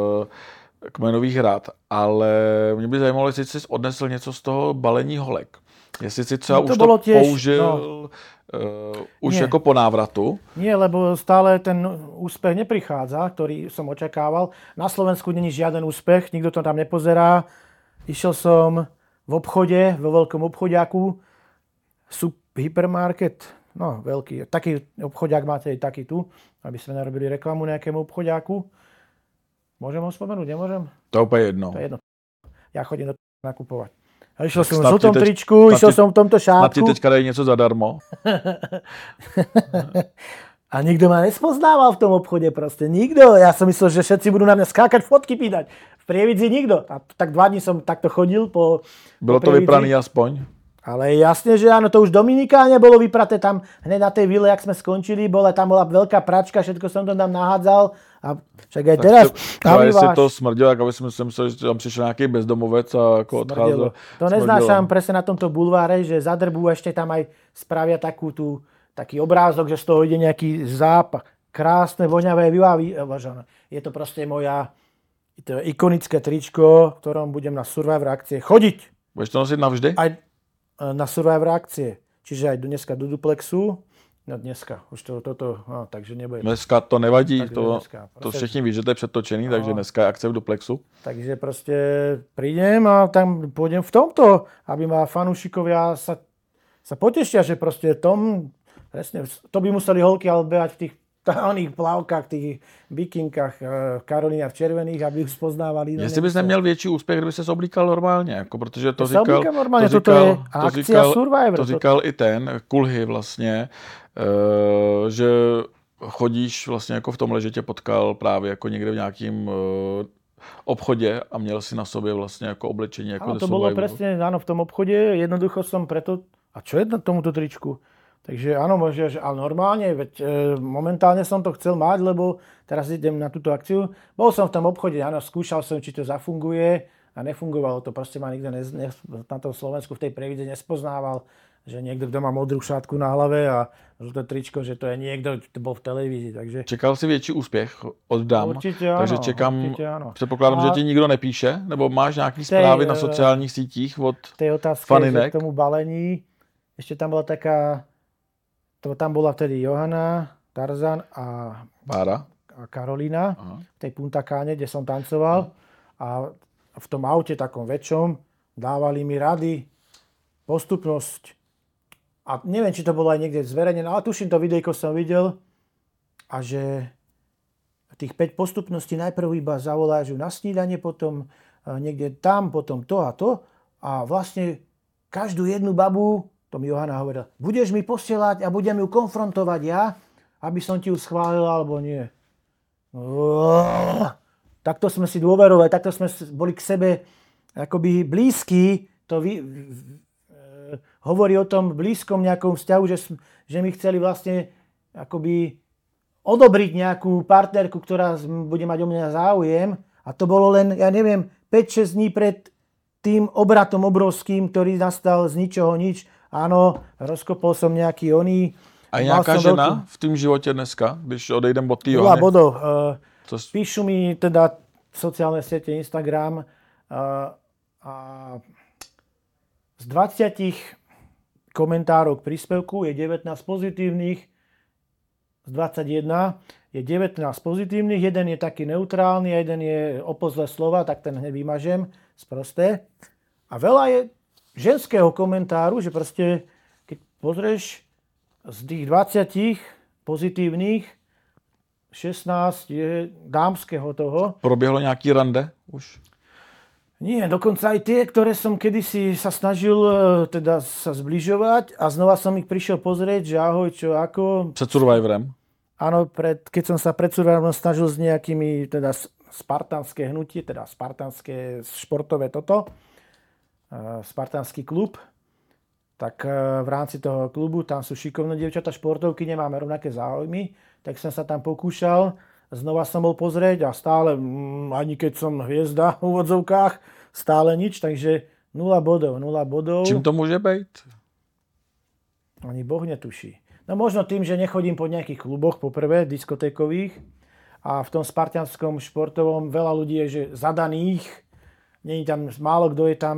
kmenových hrad, ale mě by zajímalo, jestli jsi odnesl něco z toho balení holek. Jestli si třeba no to už to tiež, použil no. uh, už Nie. Jako po návratu. Nie, lebo stále ten úspech neprichádza, ktorý som očakával. Na Slovensku není žiaden úspech, nikto to tam nepozerá. Išiel som v obchode, vo veľkom obchodiaku, Sup hypermarket, no veľký, taký obchodiak máte aj taký tu, aby sme narobili reklamu nejakému obchodiaku. Môžem ho spomenúť, nemôžem? To je úplne jedno. To je jedno. Ja chodím do nakupovať. A išiel som v žltom tričku, išiel som v tomto šátku. Snad ti teďka dají niečo zadarmo. A nikto ma nespoznával v tom obchode proste. Nikto. Ja som myslel, že všetci budú na mňa skákať, fotky pýtať. V Prievidzi nikto. A tak dva dní som takto chodil po Bylo po to vypraný aspoň? Ale jasne, že áno, to už Dominikáne bolo vypraté tam hneď na tej vile, jak sme skončili, bola, tam bola veľká pračka, všetko som to tam nahádzal. A však aj teraz... Ale jestli to smrdilo, jak aby som si myslel, že tam přišiel nejaký bezdomovec a ako odcházel. To neznášam presne na tomto bulváre, že zadrbú, ešte tam aj spravia takú tú, taký obrázok, že z toho ide nejaký zápach. Krásne, voňavé, vyvážené. Je to proste moja to je ikonické tričko, v ktorom budem na Survivor akcie chodiť. Budeš to nosiť navždy? Aj na Survivor akcie. Čiže aj dneska do duplexu. No dneska, už to, toto, no, takže nebude. Dneska to nevadí, to, dneska, to všichni ví, že to je předtočený, no. Takže dneska je akce v duplexu. Takže proste prídem a tam pôjdem v tomto, aby ma fanúšikovia sa, sa potešia, že proste tom, presne, to by museli holky ale behať v tých oných plavkách, tých bikinkách, Karolína v červených, aby už spoznávali. No, jestli bys neměl větší úspěch, kdyby ses oblíkal normálně, jako, protože to ja říkal, normálně, to říkal, je to říkal, Survivor, to říkal to... i ten, Kulhy vlastně, uh, že chodíš vlastně jako v tomhle, že tě potkal právě jako někde v nějakým uh, obchodě a měl si na sobě vlastně jako oblečení. Jako áno, to bolo presne, áno, v tom obchode, jednoducho som preto, a čo je na tomuto tričku? Takže áno, možno, že ale normálne, veď e, momentálne som to chcel mať, lebo teraz idem na túto akciu. Bol som v tom obchode, áno, skúšal som, či to zafunguje a nefungovalo to. Proste ma nikto ne, ne, na tom Slovensku v tej Prievidzi nespoznával, že niekto, kto má modrú šátku na hlave a žlté tričko, že to je niekto, kto bol v televízii. Takže... Čekal si větší úspěch od dám, určitě áno, takže čekám, určitě áno. Předpokládám, a... že ti nikdo nepíše, nebo máš nějaký zprávy na sociálních sítích od tej otázke, faninek? K tomu balení, ešte tam bola taká To tam bola vtedy Johana, Tarzan a, Bára. a Karolína Aha. v tej Punta Cáne, kde som tancoval. A v tom aute takom väčšom dávali mi rady, postupnosť. A neviem, či to bolo aj niekde zverejnené, ale tuším, to videjko som videl. A že tých päť postupností najprv iba zavoláš na snídanie, potom niekde tam, potom to a to. A vlastne každú jednu babu, to mi Johana hovorila, budeš mi posielať a budem ju konfrontovať ja, aby som ti ju schválil, alebo nie. Oh, takto sme si dôverovali, takto sme boli k sebe akoby blízki. To vy, e, hovorí o tom blízkom nejakom vzťahu, že, že mi chceli vlastne akoby odobriť nejakú partnerku, ktorá bude mať o mňa záujem. A to bolo len, ja neviem, päť šesť dní pred tým obratom obrovským, ktorý nastal z ničoho nič. áno, rozkopol som nejaký oný. A je nějaká žena veľký... v tom životě dneska, když odejdem od té Johany? Nula bodov. To... Píšu mi teda sociálne siete Instagram a z dvadsať komentárov k príspevku je devätnásť pozitívnych, z dvadsaťjeden je devätnásť pozitívnych, jeden je taký neutrálny a jeden je opozle slova, tak ten hneď vymažem, sprosté. A veľa je ženského komentáru, že proste, keď pozrieš z tých dvadsať pozitívnych, šestnásť je dámskeho toho. Proběhlo nějaký rande už? Nie, dokonca aj tie, ktoré som kedysi sa snažil teda sa zbližovať a znova som ich prišiel pozrieť, že ahoj, čo, ako. Před Survivorem? Áno, pred, keď som sa pred Survivorom snažil s nejakými teda spartanské hnutie, teda spartanské športové toto, spartanský klub, tak v rámci toho klubu, tam sú šikovné dievčatá športovky, nemáme rovnaké záujmy, tak som sa tam pokúšal, znova som bol pozrieť a stále, ani keď som hviezda v úvodzovkách, stále nič, takže nula bodov, nula bodov. Čím to môže byť? Ani Boh netuší. No možno tým, že nechodím po nejakých kluboch, poprvé, diskotékových, a v tom spartanskom športovom veľa ľudí je, že zadaných, nie je tam, málo kto je tam.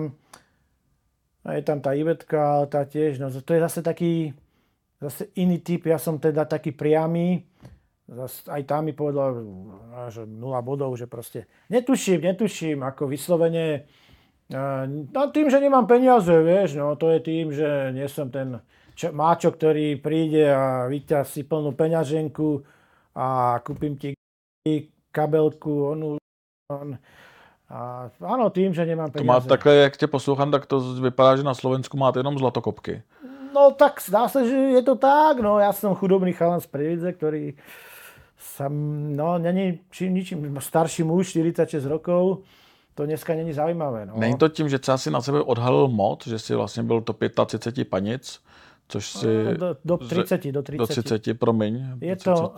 A je tam tá Ivetka, ale tá tiež, no to je zase taký, zase iný typ, ja som teda taký priamy, zase aj tam mi povedal, že nula bodov, že proste netuším, netuším, ako vyslovene, no tým, že nemám peniaze, vieš, no to je tým, že nie som ten čo, máčo, ktorý príde a vyťa si plnú peňaženku a kúpim ti kabelku, onu, on, a áno, tým, že nemám peniaze. To má takhle, jak tě poslouchám, tak to vypadá, že na Slovensku máte jenom zlatokopky. No tak zdá sa, že je to tak. No ja som chudobný chalan z Prievidze, ktorý sa, no není čím ničím starší muž, štyridsaťšesť rokov. To dneska není zaujímavé. No. Není to tím, že třeba si na sebe odhalil mod, že si vlastně byl to třicet pět panic, což si... No, do, do tridsať, do tridsať. Do tridsať, promiň. Je to...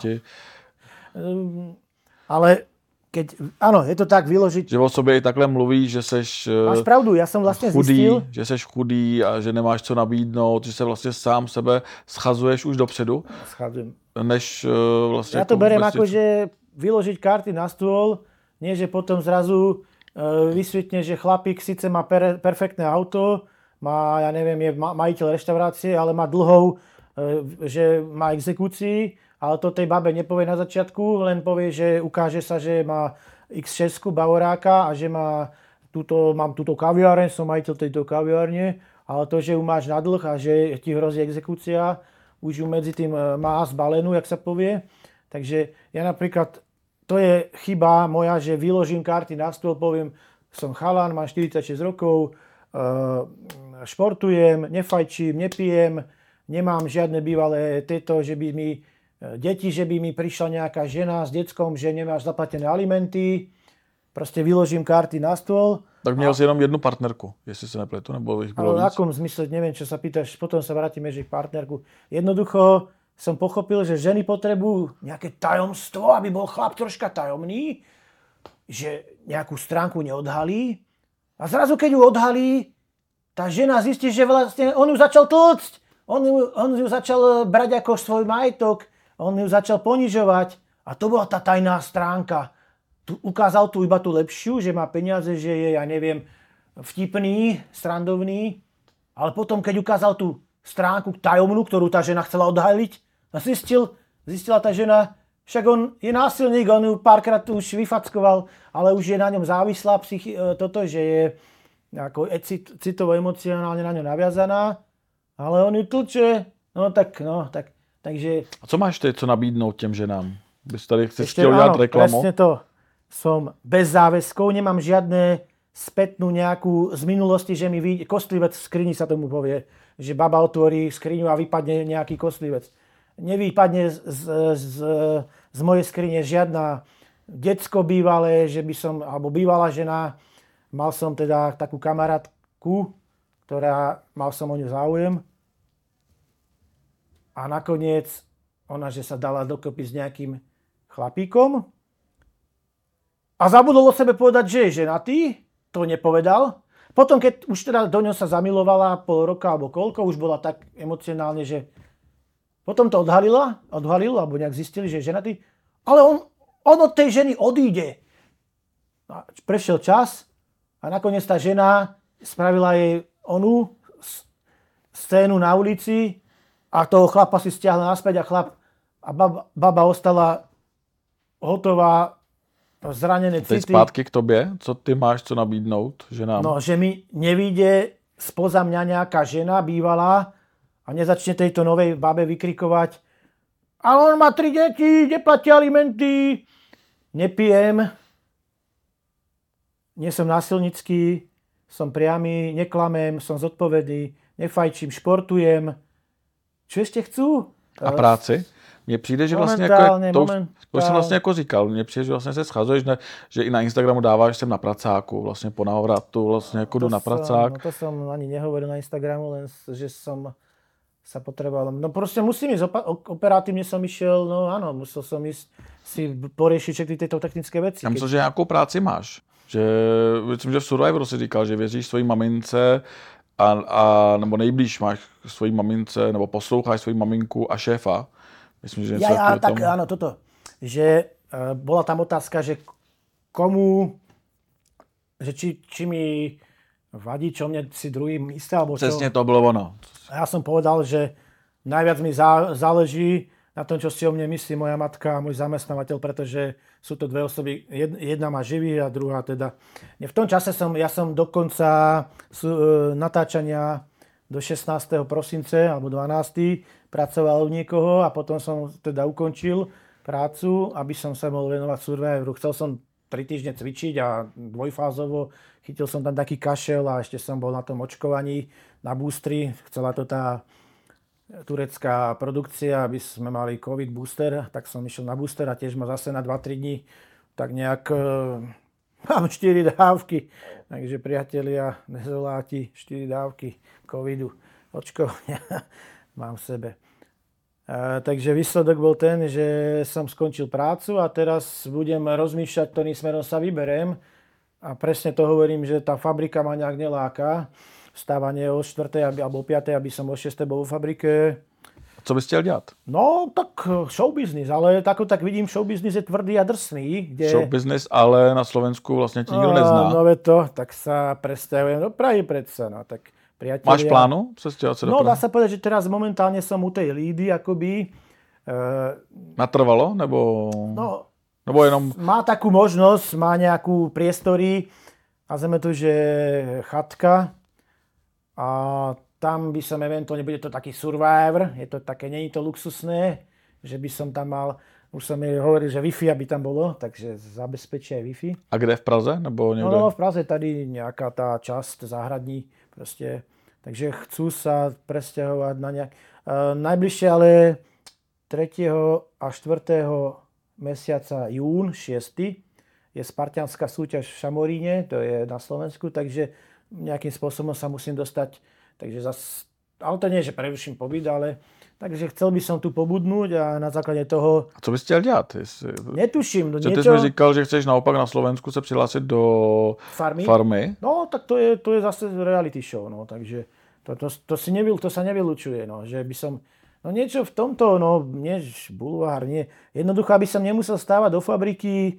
Um, ale... Keď, áno, je to tak vyložiť. Že o sobě i takhle mluví, že seš Máš pravdu, ja som vlastne chudý, zistil. že seš chudý a že nemáš co nabídnout, že se vlastně sám sebe schazuješ už dopředu. Schazujem. Než vlastně... Ja to beriem ako, že vyložiť karty na stôl, nie že potom zrazu uh, vysvetne, že chlapík síce má per, perfektné auto, má, ja neviem, je majiteľ reštaurácie, ale má dlhov, uh, že má exekúcií, ale to tej babe nepovie na začiatku, len povie, že ukáže sa, že má iks šesť bavoráka a že má túto, mám túto kaviareň, som majiteľ tejto kaviárne, ale to, že ju máš na dlh a že ti hrozí exekúcia, už ju medzi tým má zbalenú, jak sa povie. Takže ja napríklad, to je chyba moja, že vyložím karty na stôl, poviem, som chalan, mám štyridsaťšesť rokov, športujem, nefajčím, nepijem, nemám žiadne bývalé tieto, že by mi deti, že by mi prišla nejaká žena s deckom, že nemáš zaplatené alimenty. Proste vyložím karty na stôl. Tak měl a... si jenom jednu partnerku, jestli sa nepletu, nebo ich bylo víc? Ale v akom zmysle, neviem, čo sa pýtaš, potom sa vrátime, že partnerku. Jednoducho som pochopil, že ženy potrebujú nejaké tajomstvo, aby bol chlap troška tajomný, že nejakú stránku neodhalí. A zrazu, keď ju odhalí, tá žena zistí, že vlastne on ju začal tlcť. On ju, on ju začal brať ako svoj majetok. On ju začal ponižovať a to bola tá tajná stránka. Tu ukázal tu iba tú lepšiu, že má peniaze, že je, ja neviem, vtipný, srandovný, ale potom, keď ukázal tú stránku tajomnú, ktorú tá žena chcela odhaliť, a zistil, zistila tá žena, však on je násilník, on ju párkrát už vyfackoval, ale už je na ňom závislá psychi- toto, že je ako cit- citovo-emocionálne na ňu naviazaná, ale on ju tlče, no tak, no tak. Takže... A co máš ty, co nabídnout těm ženám? Bys tady chceš chtěl udělat reklamu? Presne to. Som bez záväzkov, nemám žiadne spätnú nejakú z minulosti, že mi vyjde, kostlivec v skrini sa tomu povie, že baba otvorí skriňu a vypadne nejaký kostlivec. Nevypadne z, z, z, z mojej skrine žiadna decko bývalé, že by som, alebo bývalá žena, mal som teda takú kamarátku, ktorá, mal som o ňu záujem. A nakoniec ona, že sa dala dokopy s nejakým chlapíkom a zabudol o sebe povedať, že je ženatý, to nepovedal. potom, keď už teda do ňo sa zamilovala pol roka alebo koľko, už bola tak emocionálne, že potom to odhalila, odhalil, alebo nejak zistili, že je ženatý, ale on, on od tej ženy odíde. A prešiel čas a nakoniec tá žena spravila jej onú scénu na ulici a toho chlapa si stiahla naspäť a chlap a baba, baba ostala hotová, zranené city. Teď zpátky k tobě, co ty máš co nabídnout ženám? No, že mi nevíde spoza mňa nejaká žena bývalá a nezačne tejto novej babe vykrikovať, ale on má tri deti, neplatí alimenty, nepijem, nie som násilnický, som priamy, neklamem, som zodpovedný, nefajčím, športujem. Čo ešte chcú? A práci? Mně přijde, že vlastně jako, to, to už jsem vlastně jako říkal, mně přijde, že vlastně se schazuješ, ne, že i na Instagramu dáváš, že jsem na pracáku, vlastně po návratu, vlastně jako jdu na pracák. No to som ani nehovoril na Instagramu, len že som sa potreboval. No proste musím ísť, operatívne som išiel, no áno, musel som ísť si poriešiť všetky tieto technické veci. Já myslím, že nějakou práci máš. Že, myslím, že v Survivoru si říkal, že věříš svojí mamince a, a nebo nejblíž máš svojí mamince, nebo posloucháš svojí maminku a šéfa. Myslím, že něco ja, ja, tak áno, toto. Že uh, bola tam otázka, že komu, že či, či mi vadí, čo mne si druhý myslí, alebo čo. Přesně to bylo ono. Ja som povedal, že najviac mi zá, záleží na tom, čo si o mne myslí moja matka a môj zamestnávateľ, pretože sú to dve osoby, jedna má živý a druhá teda. V tom čase som, ja som dokonca sú, e, natáčania do šestnásteho prosince alebo dvanásteho pracoval u niekoho a potom som teda ukončil prácu, aby som sa mohol venovať Survivoru. Chcel som tri týždne cvičiť a dvojfázovo chytil som tam taký kašel a ešte som bol na tom očkovaní na boostri. Chcela to tá turecká produkcia, aby sme mali covid booster, tak som išiel na booster a tiež ma zase na dva tri dní tak nejak e, mám štyri dávky. Takže priatelia, nezoláti, štyri dávky covidu, očkovania mám v sebe. E, takže výsledok bol ten, že som skončil prácu a teraz budem rozmýšľať, ktorým smerom sa vyberiem. A presne to hovorím, že tá fabrika ma nejak neláka. Vstávanie o štvrtej alebo o piatej, aby som o šiestej bol vo fabrike. Co bys chtěl dělat? No, tak show business, ale tak, tak vidím, show business je tvrdý a drsný. Kde... Show business, ale na Slovensku vlastně tě nikdo nezná. No, no to, tak sa presťahujem do Prahy predsa, no, tak priatelia. Máš plánu přestěhovat se do No, Prahy? dá sa povedať, že teraz momentálne som u tej lídy, akoby. E... Natrvalo, nebo... No, nebo jenom... Má takú možnosť, má nejakú priestory, nazveme to, že chatka. A tam by som eventuálne, bude to taký Survivor, je to také, nie je to luxusné, že by som tam mal, už som jej hovoril, že Wi-Fi aby tam bolo, takže zabezpečí aj Wi-Fi. A kde, v Praze? Nebo niekde? No, no v Praze tady nejaká tá časť záhradní, proste, takže chcú sa presťahovať na nejak... Uh, najbližšie ale tretieho a štvrtého mesiaca jún, šiesty je spartianská súťaž v Šamoríne, to je na Slovensku, takže nejakým spôsobom sa musím dostať, takže zas, ale to nie, že preruším pobyt, ale takže chcel by som tu pobudnúť a na základe toho... A co bys chtěl dělat? Jestli... Netuším. Co niečo... ty jsi mi říkal, že chceš naopak na Slovensku se přihlásit do farmy? farmy? No, tak to je, to je zase reality show, no, takže to, to, to, si nevyl, to sa nevylučuje, no, že by som... No niečo v tomto, no, nie bulvár, nie. Jednoducho, aby som nemusel stávať do fabriky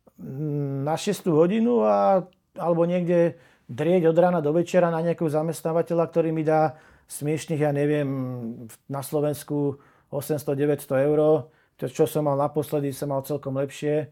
na šiestu hodinu a, alebo niekde drieť od rána do večera na nejakého zamestnávateľa, ktorý mi dá smiešných, ja neviem, na Slovensku osemsto deväťsto eur. To, čo som mal naposledy, som mal celkom lepšie.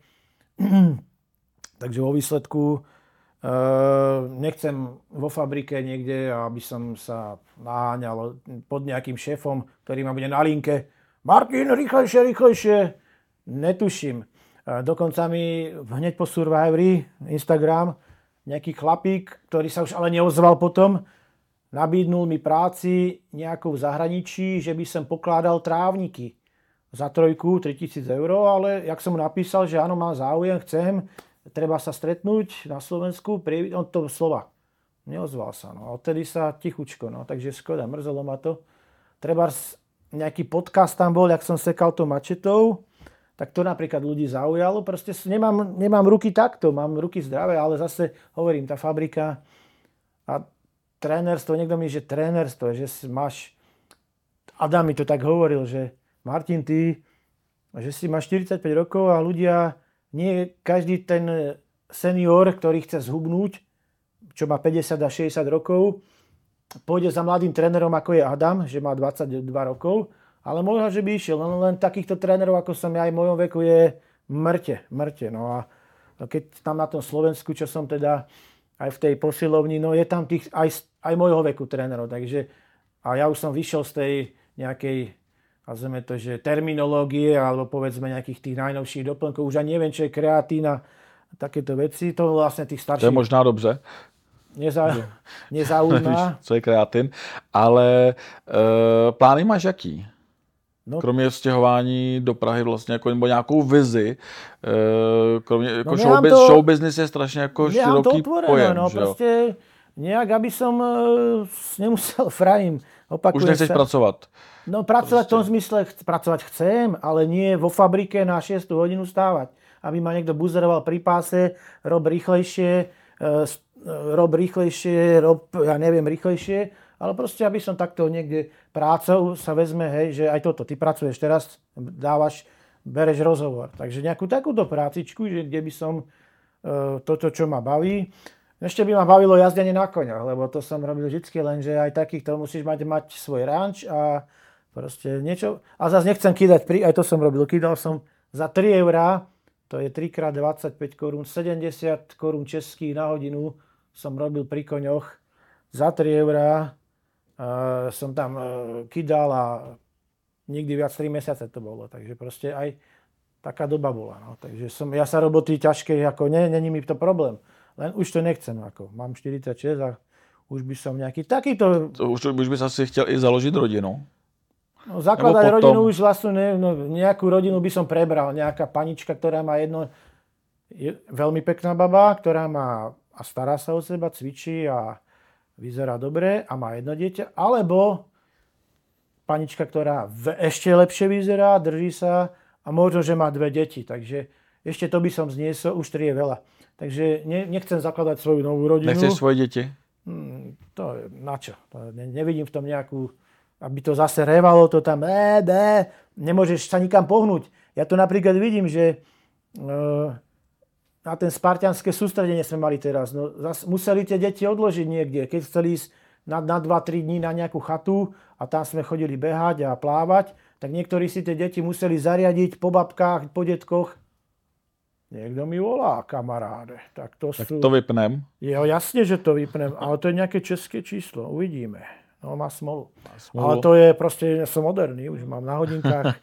Takže vo výsledku e, nechcem vo fabrike niekde, aby som sa naháňal pod nejakým šéfom, ktorý ma bude na linke. Martin, rýchlejšie, rýchlejšie. Netuším. E, dokonca mi hneď po Survivori, Instagram, nejaký chlapík, ktorý sa už ale neozval potom, nabídnul mi práci nejakou v zahraničí, že by som pokládal trávniky za trojku, tritisíc eur, ale jak som mu napísal, že áno, mám záujem, chcem, treba sa stretnúť na Slovensku, on to slova. Neozval sa, no. A odtedy sa tichučko, no. Takže škoda, mrzelo ma to. Treba nejaký podcast tam bol, jak som sekal to mačetou, tak to napríklad ľudí zaujalo. Proste nemám, nemám ruky takto, mám ruky zdravé, ale zase hovorím, tá fabrika A trénerstvo, niekto mi, že trénerstvo, že si máš, Adam mi to tak hovoril, že Martin, ty, že si máš štyridsaťpäť rokov a ľudia, nie každý ten senior, ktorý chce zhubnúť, čo má päťdesiat a šesťdesiat rokov, pôjde za mladým trénerom, ako je Adam, že má dvadsaťdva rokov, ale možno, že by išiel. Len, len takýchto trénerov, ako som ja aj v mojom veku, je mŕte, mŕte. No a keď tam na tom Slovensku, čo som teda aj v tej posilovni, no je tam tých aj, aj mojho veku trénerov. Takže, a ja už som vyšiel z tej nejakej, nazveme to, že terminológie, alebo povedzme nejakých tých najnovších doplnkov. Už ani neviem, čo je kreatín a takéto veci. To vlastne tých starších... To je možná dobře. Neza, nezaujíma. Co je kreatin. Ale e, plány máš jaký? No, kromě stěhování do Prahy vlastně jako, nebo nějakou vizi, e, kromě, jako no, show, to, show business je strašně jako široký pojem, no, že jo? Prostě nějak, aby som uh, nemusel frajím. Už nechceš sa. pracovat? No pracovať prostě. V tom zmysle, ch- pracovať chcem, ale nie vo fabrike na šiestu hodinu stávať. Aby ma niekto buzeroval pri páse, rob rýchlejšie, uh, rob rýchlejšie, rob, ja neviem, rýchlejšie, ale proste, aby som takto niekde prácou sa vezme, hej, že aj toto, ty pracuješ teraz, dávaš, bereš rozhovor. Takže nejakú takúto prácičku, že kde by som uh, toto, čo ma baví. Ešte by ma bavilo jazdenie na koňoch, lebo to som robil vždycky, lenže aj takýchto musíš mať, mať svoj ranč a proste niečo. A zase nechcem kýdať, aj to som robil, kýdal som za tri eurá, to je tri krát dvadsaťpäť korún, sedemdesiat korún českých na hodinu som robil pri koňoch. Za tri eurá uh, som tam uh, kydal a nikdy viac tri mesiace to bolo. Takže proste aj taká doba bola. No. Takže som, ja sa roboty ťažké, ako nie, není mi to problém. Len už to nechcem. Ako. Mám štyridsaťšesť a už by som nejaký takýto... To už, už by sa si chtěl i založiť rodinu? No, zakladať potom... rodinu už vlastne, ne, no, nejakú rodinu by som prebral. Nejaká panička, ktorá má jedno... Je veľmi pekná baba, ktorá má a stará sa o seba, cvičí a vyzerá dobre a má jedno dieťa. Alebo panička, ktorá ešte lepšie vyzerá, drží sa a možno, že má dve deti. Takže ešte to by som zniesol, už tri je veľa. Takže ne, nechcem zakladať svoju novú rodinu. Nechceš svoje deti? Hmm, to je na čo? To ne, nevidím v tom nejakú, aby to zase revalo, to tam, é, bé, nemôžeš sa nikam pohnúť. Ja to napríklad vidím, že uh, na ten spartianské sústredenie sme mali teraz. No, zase museli tie deti odložiť niekde. Keď chceli ísť na, na dva tri dní na nejakú chatu a tam sme chodili behať a plávať, tak niektorí si tie deti museli zariadiť po babkách, po detkoch. Niekto mi volá, kamaráde. Tak to, tak sú... to vypnem. Jo, jasne, že to vypnem, ale to je nejaké české číslo. Uvidíme. No, má smolu. Má smolu. Ale to je proste, ja som moderný, už mám na hodinkách.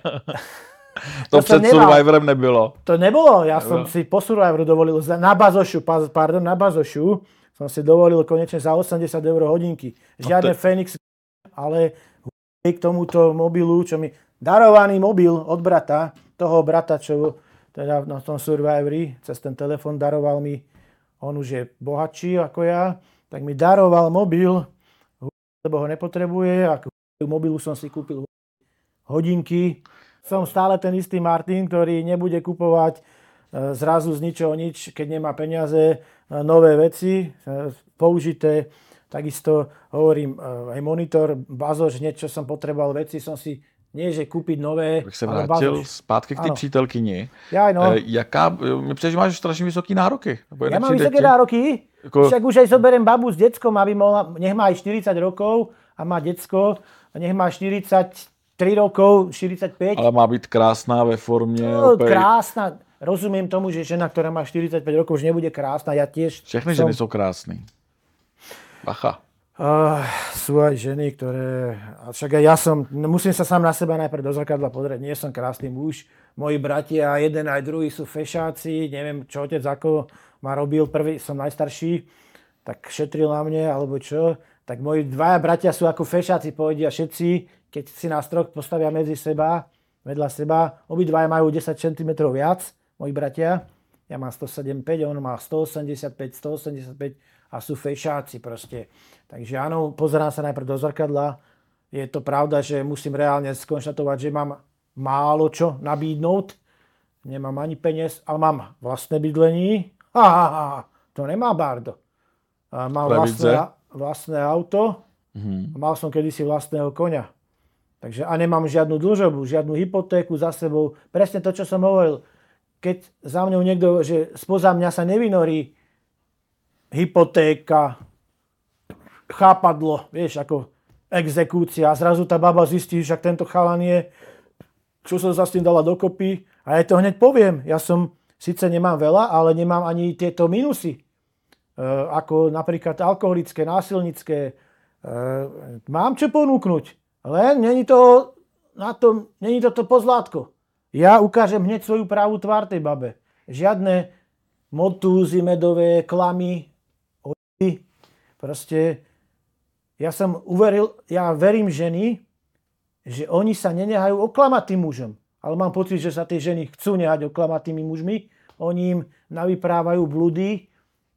to, to před Survivorem nebylo. To nebolo. Ja nebylo. Som si po Survivoru dovolil, na Bazošu, pardon, na Bazošu som si dovolil konečne za osemdesiat eur hodinky. Žiadne no to... Fenix, ale k tomuto mobilu, čo mi... Darovaný mobil od brata, toho brata, čo teda na tom Survivori, cez ten telefon daroval mi, on už je bohatší ako ja, tak mi daroval mobil, lebo ho nepotrebuje, a k mobilu som si kúpil hodinky. Som stále ten istý Martin, ktorý nebude kupovať zrazu z ničoho nič, keď nemá peniaze, nové veci, použité. Takisto hovorím, aj monitor, bazoš, niečo som potreboval veci, som si nie, že kúpiť nové. Bych se vrátil zpátky k té přítelkyni. Ja, no. E, jaká, mi přijde, že máš strašně vysoké nároky. Ja mám vysoké nároky? Jako... Však už aj zoberiem babu s deckom, aby mohla, nech má aj štyridsať rokov a má decko, a nech má štyridsaťtri rokov, štyridsaťpäť. Ale má být krásná ve formě. No, opět... Krásna. Rozumiem tomu, že žena, ktorá má štyridsaťpäť rokov, už nebude krásna. Ja tiež Všechny som... ženy sú krásne. Bacha. Uh, sú aj ženy, ktoré... Však aj ja som... Musím sa sám na seba najprv do zrkadla pozrieť. Nie som krásny muž. Moji bratia, jeden aj druhý sú fešáci. Neviem, čo otec ako ma robil. Prvý, som najstarší. Tak šetril na mne, alebo čo. Tak moji dvaja bratia sú ako fešáci. Povedia všetci, keď si nás troch postavia medzi seba, vedľa seba. Obidvaja majú desať centimetrov viac. Moji bratia. Ja mám sto sedem päť, on má sto osemdesiatpäť, sto osemdesiatpäť. A sú fešáci proste. Takže áno, pozerám sa najprv do zrkadla. Je to pravda, že musím reálne skonštatovať, že mám málo čo nabídnúť. Nemám ani peniaz, ale mám vlastné bydlení. Ha, ha, ha, to nemá Bardo. A mal vlastné, vlastné auto. Mm-hmm. Mal som kedysi vlastného koňa. Takže a nemám žiadnu dlžobu, žiadnu hypotéku za sebou. Presne to, čo som hovoril. Keď za mňou niekto, že spoza mňa sa nevynorí hypotéka, chápadlo, vieš, ako exekúcia. A zrazu tá baba zistí, že tento chalan je, čo som sa s tým dala dokopy. A ja to hneď poviem. Ja som, síce nemám veľa, ale nemám ani tieto minusy. E, ako napríklad alkoholické, násilnické. E, mám čo ponúknuť. Len není to na tom, není to to pozlátko. Ja ukážem hneď svoju pravú tvár tej babe. Žiadne motúzy, medové, klamy, ojdy. Proste ja som uveril, ja verím ženy, že oni sa nenehajú oklamať tým mužom. Ale mám pocit, že sa tie ženy chcú nehať oklamať tými mužmi. Oni im navyprávajú blúdy,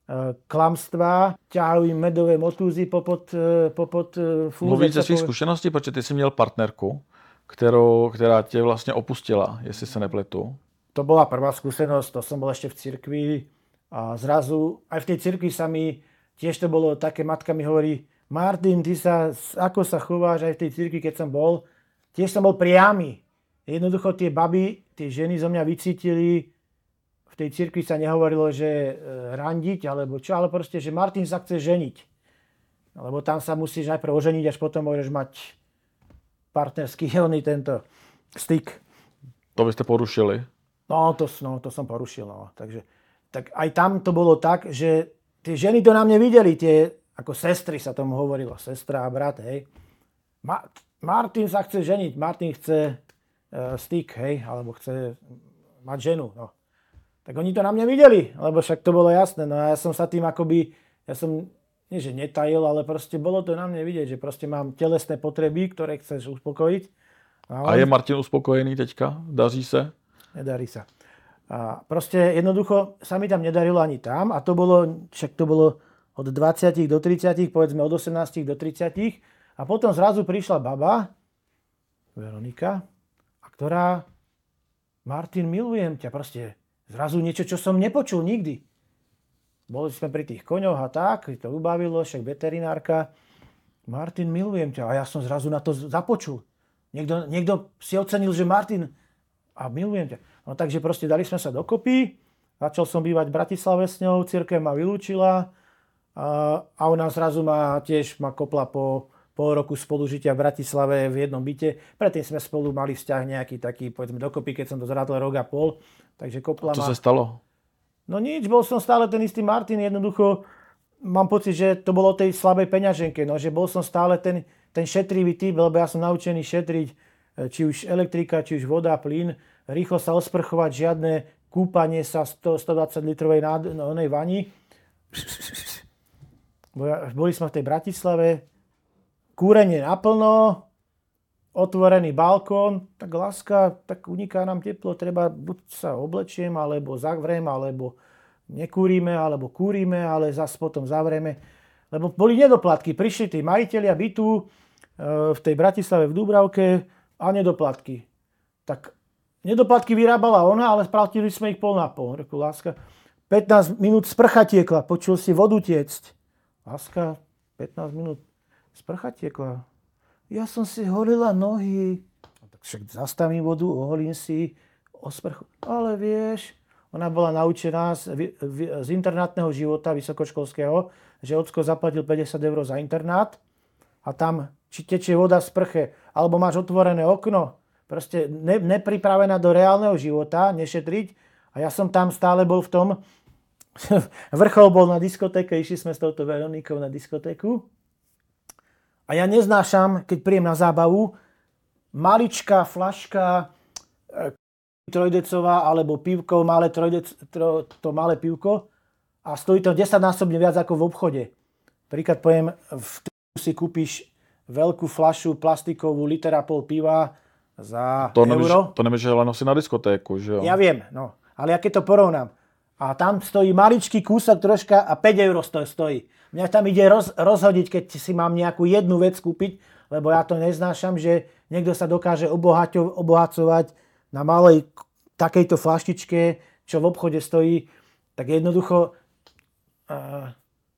klamstvá, ťahajú im medové motúzy popod, popod fúze. Mluvíš ze svých zkušeností, protože ty jsi měl partnerku, kterou, která tě vlastně opustila, jestli se nepletu. To bola prvá skúsenosť, to som bol ešte v cirkvi a zrazu aj v tej cirkvi sa mi, tiež to bolo také, matka mi hovorí, Martin, ty sa, ako sa chováš aj v tej cirkvi, keď som bol, tiež som bol priamy. Jednoducho tie baby, tie ženy zo mňa vycítili. V tej cirkvi sa nehovorilo, že randiť, alebo čo, ale proste, že Martin sa chce ženiť. Lebo tam sa musíš najprv oženiť, až potom môžeš mať partnerský helný tento styk. To by ste porušili? No to, no, to som porušil. No. Takže, tak aj tam to bolo tak, že tie ženy to na mne videli, tie, ako sestry sa tomu hovorilo, sestra a brat, hej. Ma- Martin sa chce ženiť, Martin chce uh, styk, hej, alebo chce mať ženu, no. Tak oni to na mňa videli, lebo však to bolo jasné. No a ja som sa tým akoby, ja som, nie že netajil, ale proste bolo to na mne vidieť, že proste mám telesné potreby, ktoré chceš uspokojiť. A, a je Martin uspokojený teďka? Daří se? Nedarí sa. A proste jednoducho sa mi tam nedarilo ani tam a to bolo, však to bolo od dvadsať do tridsať, povedzme od osemnásť do tridsať a potom zrazu prišla baba, Veronika, a ktorá, Martin, milujem ťa, proste zrazu niečo, čo som nepočul nikdy. Boli sme pri tých koňoch a tak, to ubavilo, však veterinárka. Martin, milujem ťa. A ja som zrazu na to započul. Niekto, niekto si ocenil, že Martin, a milujem ťa. No takže proste dali sme sa dokopy. Začal som bývať v Bratislave s ňou, cirkev ma vylúčila. A, a ona zrazu ma tiež ma kopla po pol roku spolužitia v Bratislave v jednom byte. Predtým sme spolu mali vzťah nejaký taký, povedzme, dokopy, keď som to zrátol rok a pol. Takže kopla Co ma... sa stalo? No nič, bol som stále ten istý Martin, jednoducho mám pocit, že to bolo o tej slabej peňaženke, no, že bol som stále ten, ten šetrivý typ, lebo ja som naučený šetriť, či už elektrika, či už voda, plyn, rýchlo sa osprchovať, žiadne kúpanie sa sto, stodvadsať litrovej nád, no, onej vani. Boli sme v tej Bratislave, kúrenie naplno, otvorený balkón, tak láska, tak uniká nám teplo, treba buď sa oblečiem, alebo zavriem, alebo nekúrime, alebo kúrime, ale zase potom zavrieme. Lebo boli nedoplatky, prišli tí majitelia bytu v tej Bratislave v Dúbravke a nedoplatky. Tak nedoplatky vyrábala ona, ale splatili sme ich pol na pol. Reku, láska, pätnásť minút sprcha tiekla, počul si vodu tiecť. Láska, pätnásť minút sprcha tiekla. Ja som si holila nohy. Tak však zastavím vodu, oholím si, osprchu. Ale vieš, ona bola naučená z, z internátneho života vysokoškolského, že ocko zaplatil päťdesiat eur za internát a tam či tečie voda v sprche, alebo máš otvorené okno, proste ne, nepripravená do reálneho života, nešetriť. A ja som tam stále bol v tom, vrchol bol na diskotéke, išli sme s touto Veronikou na diskotéku. A ja neznášam, keď príjem na zábavu, maličká flaška trojdecová alebo pivko, malé trojdec, to, to malé pivko a stojí to desaťnásobne viac ako v obchode. Príklad poviem, v trhu si kúpiš veľkú flašu plastikovú, liter a pol piva za to euro. Nemůže, to nemůže len nosit na diskotéku, že jo? Ja viem, no. Ale ja keď to porovnám, a tam stojí maličký kúsok troška a päť eur stojí. Mňa tam ide roz, rozhodiť, keď si mám nejakú jednu vec kúpiť, lebo ja to neznášam, že niekto sa dokáže obohaťo, obohacovať na malej takejto flaštičke, čo v obchode stojí. Tak jednoducho uh,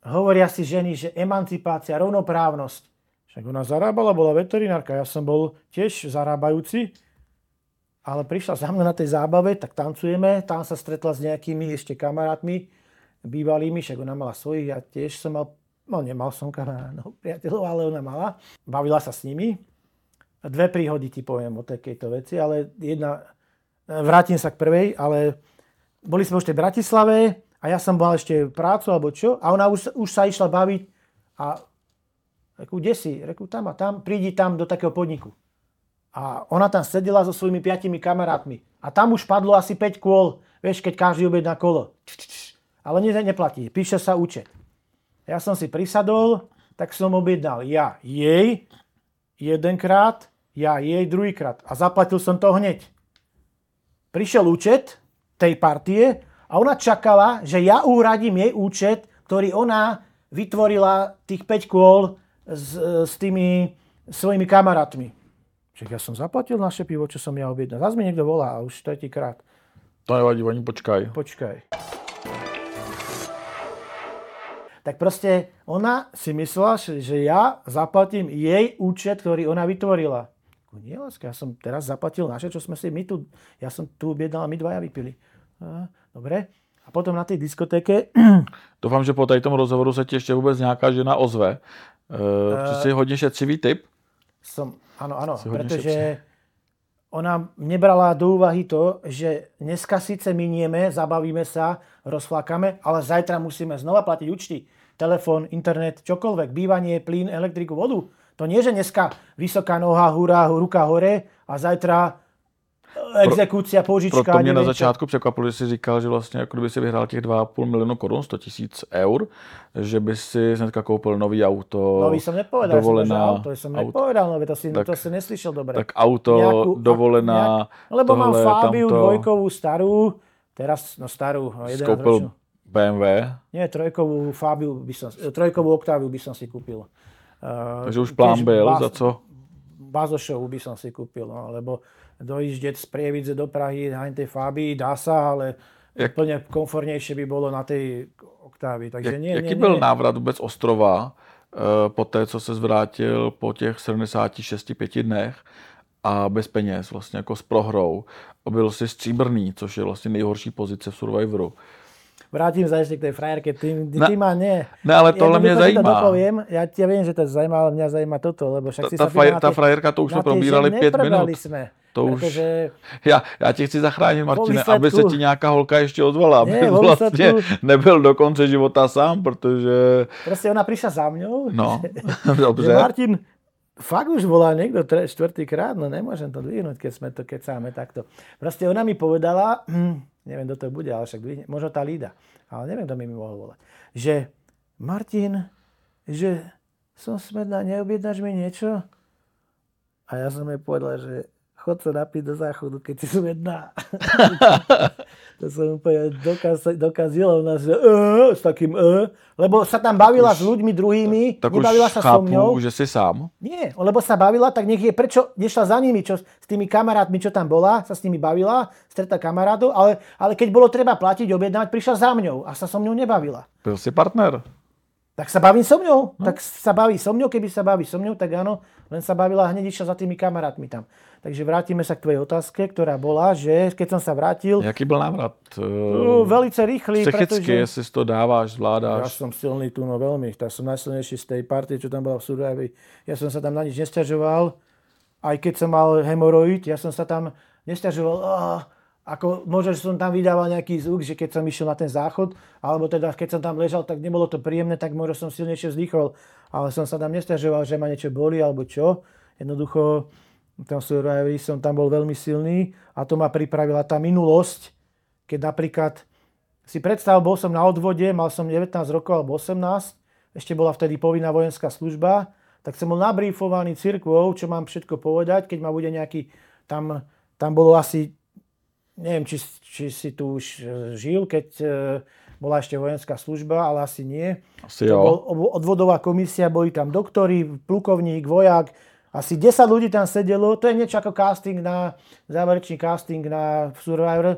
hovoria si ženy, že emancipácia, rovnoprávnosť. Však ona zarábala, bola veterinárka, ja som bol tiež zarábajúci, ale prišla za mnou na tej zábave, tak tancujeme, tam sa stretla s nejakými ešte kamarátmi, bývalými, však ona mala svojich, ja tiež som mal, no nemal som kamarátov, priateľov, ale ona mala. Bavila sa s nimi. Dve príhody ti poviem o takejto veci, ale jedna, vrátim sa k prvej, ale boli sme už v tej Bratislave a ja som mal ešte prácu alebo čo a ona už, už sa išla baviť a reku, kde si? Reku, tam a tam, prídi tam do takého podniku. A ona tam sedela so svojimi piatimi kamarátmi. A tam už padlo asi päť kôl, vieš, keď každý objedná kolo. Ale ne, neplatí, píše sa účet. Ja som si prisadol, tak som objednal ja jej jedenkrát, ja jej druhýkrát. A zaplatil som to hneď. Prišiel účet tej partie a ona čakala, že ja uhradím jej účet, ktorý ona vytvorila tých päť kôl s, s tými svojimi kamarátmi. Čiže ja som zaplatil naše pivo, čo som ja objednal. Zas mi niekto volá, už tretíkrát. To nevadí, oni počkaj. Počkaj. Tak proste ona si myslela, že ja zaplatím jej účet, ktorý ona vytvorila. Nie, láska, ja som teraz zaplatil naše, čo sme si my tu, ja som tu objednal a my dvaja vypili. A, dobre. A potom na tej diskotéke... Doufám, že po tady tom rozhovoru se ti ještě vůbec nějaká žena ozve. Uh, uh, jsi hodně šetřivý typ? Som, áno, áno, pretože ona nebrala do úvahy to, že dneska síce minieme, zabavíme sa, rozflákame, ale zajtra musíme znova platiť účty. Telefón, internet, čokoľvek, bývanie, plyn, elektriku, vodu. To nie, že dneska vysoká noha, hurá, ruka hore a zajtra exekúcia, požička. Proto mě na začátku překvapilo, že jsi říkal, že vlastně jako kdyby si vyhrál těch dva a půl milionu korun, sto tisíc eur, že by si hnedka koupil nový auto, nový som nepovedal, dovolená, som, auto, som auto. nepovedal, nové, to si, tak, to si neslyšel dobre. Tak auto, nejakú, dovolená, nejak, lebo tohle, mám Fabiu tamto. dvojkovú starú, teraz, no starú, jedenásťročnú. bé em vé? Nie, trojkovú Fabiu by som, trojkovú Octaviu by som si kúpil. Uh, Takže už plán byl, baz, za co? Bazošovú by som si kúpil, no, lebo dojíždeť z Prievidze do Prahy na tej Fabii dá sa, ale jak, úplne komfortnejšie by bolo na tej Octavii. Takže jak, nie, jaký nie, byl nie. návrat vůbec Ostrova uh, po té, co se zvrátil po těch sedmdesáti šesti pěti dnech a bez peněz, vlastně jako s prohrou. Byl si stříbrný, což je vlastně nejhorší pozice v Survivoru. Vrátim sa ešte k tej frajerke. Ty, ty, ne, ty ma nie. Ne, ale tohle mě zajímá. To dopoviem. Ja ti viem, že to zajímá, ale mňa zajímá toto, lebo však ta, si ta sa fraj, na ta frajerka, to už jsme probírali pět minut. Sme, to pretože... už... Já, já ti chci zachránit, Martine, výsledku... aby se ti nějaká holka ještě ozvala. Aby Nie, vlastně nebyl do konce života sám, protože... Proste ona prišla za mňou. No, že, dobře. Že Martin, fakt už volá niekto tre, štvrtýkrát, no nemôžem to dvihnúť, keď sme to kecáme takto. Proste ona mi povedala, hm, neviem, kto to bude, ale však dvihne, možno tá Lída, ale neviem, kto mi mi mohol volať, že Martin, že som smedná, neobjednáš mi niečo? A ja som jej povedal, že chod sa napiť do záchodu, keď si smedná. To som úplne dokaz, dokazila u nás, že uh, s takým uh, lebo sa tam bavila už, s ľuďmi druhými, tak nebavila už sa chápu, so mňou. Že si sám? Nie, lebo sa bavila, tak nech je, prečo nešla za nimi, čo, s tými kamarátmi, čo tam bola, sa s nimi bavila, stretla kamarátov, ale, ale keď bolo treba platiť, objednávať, prišla za mňou a sa so mňou nebavila. Byl si partner. Tak sa baví so mňou, no. tak sa baví so mňou, keby sa baví so mňou, tak áno, len sa bavila hneď išla za tými kamarátmi tam. Takže vrátime sa k tvojej otázke, ktorá bola, že keď som sa vrátil... Jaký byl návrat? Uh, velice rýchly, psychicky, pretože... jestli to dáváš, zvládáš. Ja som silný tu, no veľmi. Tak som najsilnejší z tej partie, čo tam bola v Survivi. Ja som sa tam na nič nesťažoval. Aj keď som mal hemoroid, ja som sa tam nesťažoval. Oh, ako možno, že som tam vydával nejaký zvuk, že keď som išiel na ten záchod, alebo teda keď som tam ležal, tak nebolo to príjemné, tak možno som silnejšie vzdychol. Ale som sa tam nesťažoval, že ma niečo bolí, alebo čo. Jednoducho... Tam som tam bol veľmi silný a to ma pripravila tá minulosť, keď napríklad si predstav, bol som na odvode, mal som devätnásť rokov alebo osemnásť, ešte bola vtedy povinná vojenská služba, tak som bol nabrífovaný cirkvou, čo mám všetko povedať, keď ma bude nejaký, tam, tam bolo asi, neviem, či, či si tu už žil, keď bola ešte vojenská služba, ale asi nie. Asi jo. Bol odvodová komisia, boli tam doktori, plukovník, vojak, asi desať ľudí tam sedelo, to je niečo ako casting na, záverečný casting na Survivor,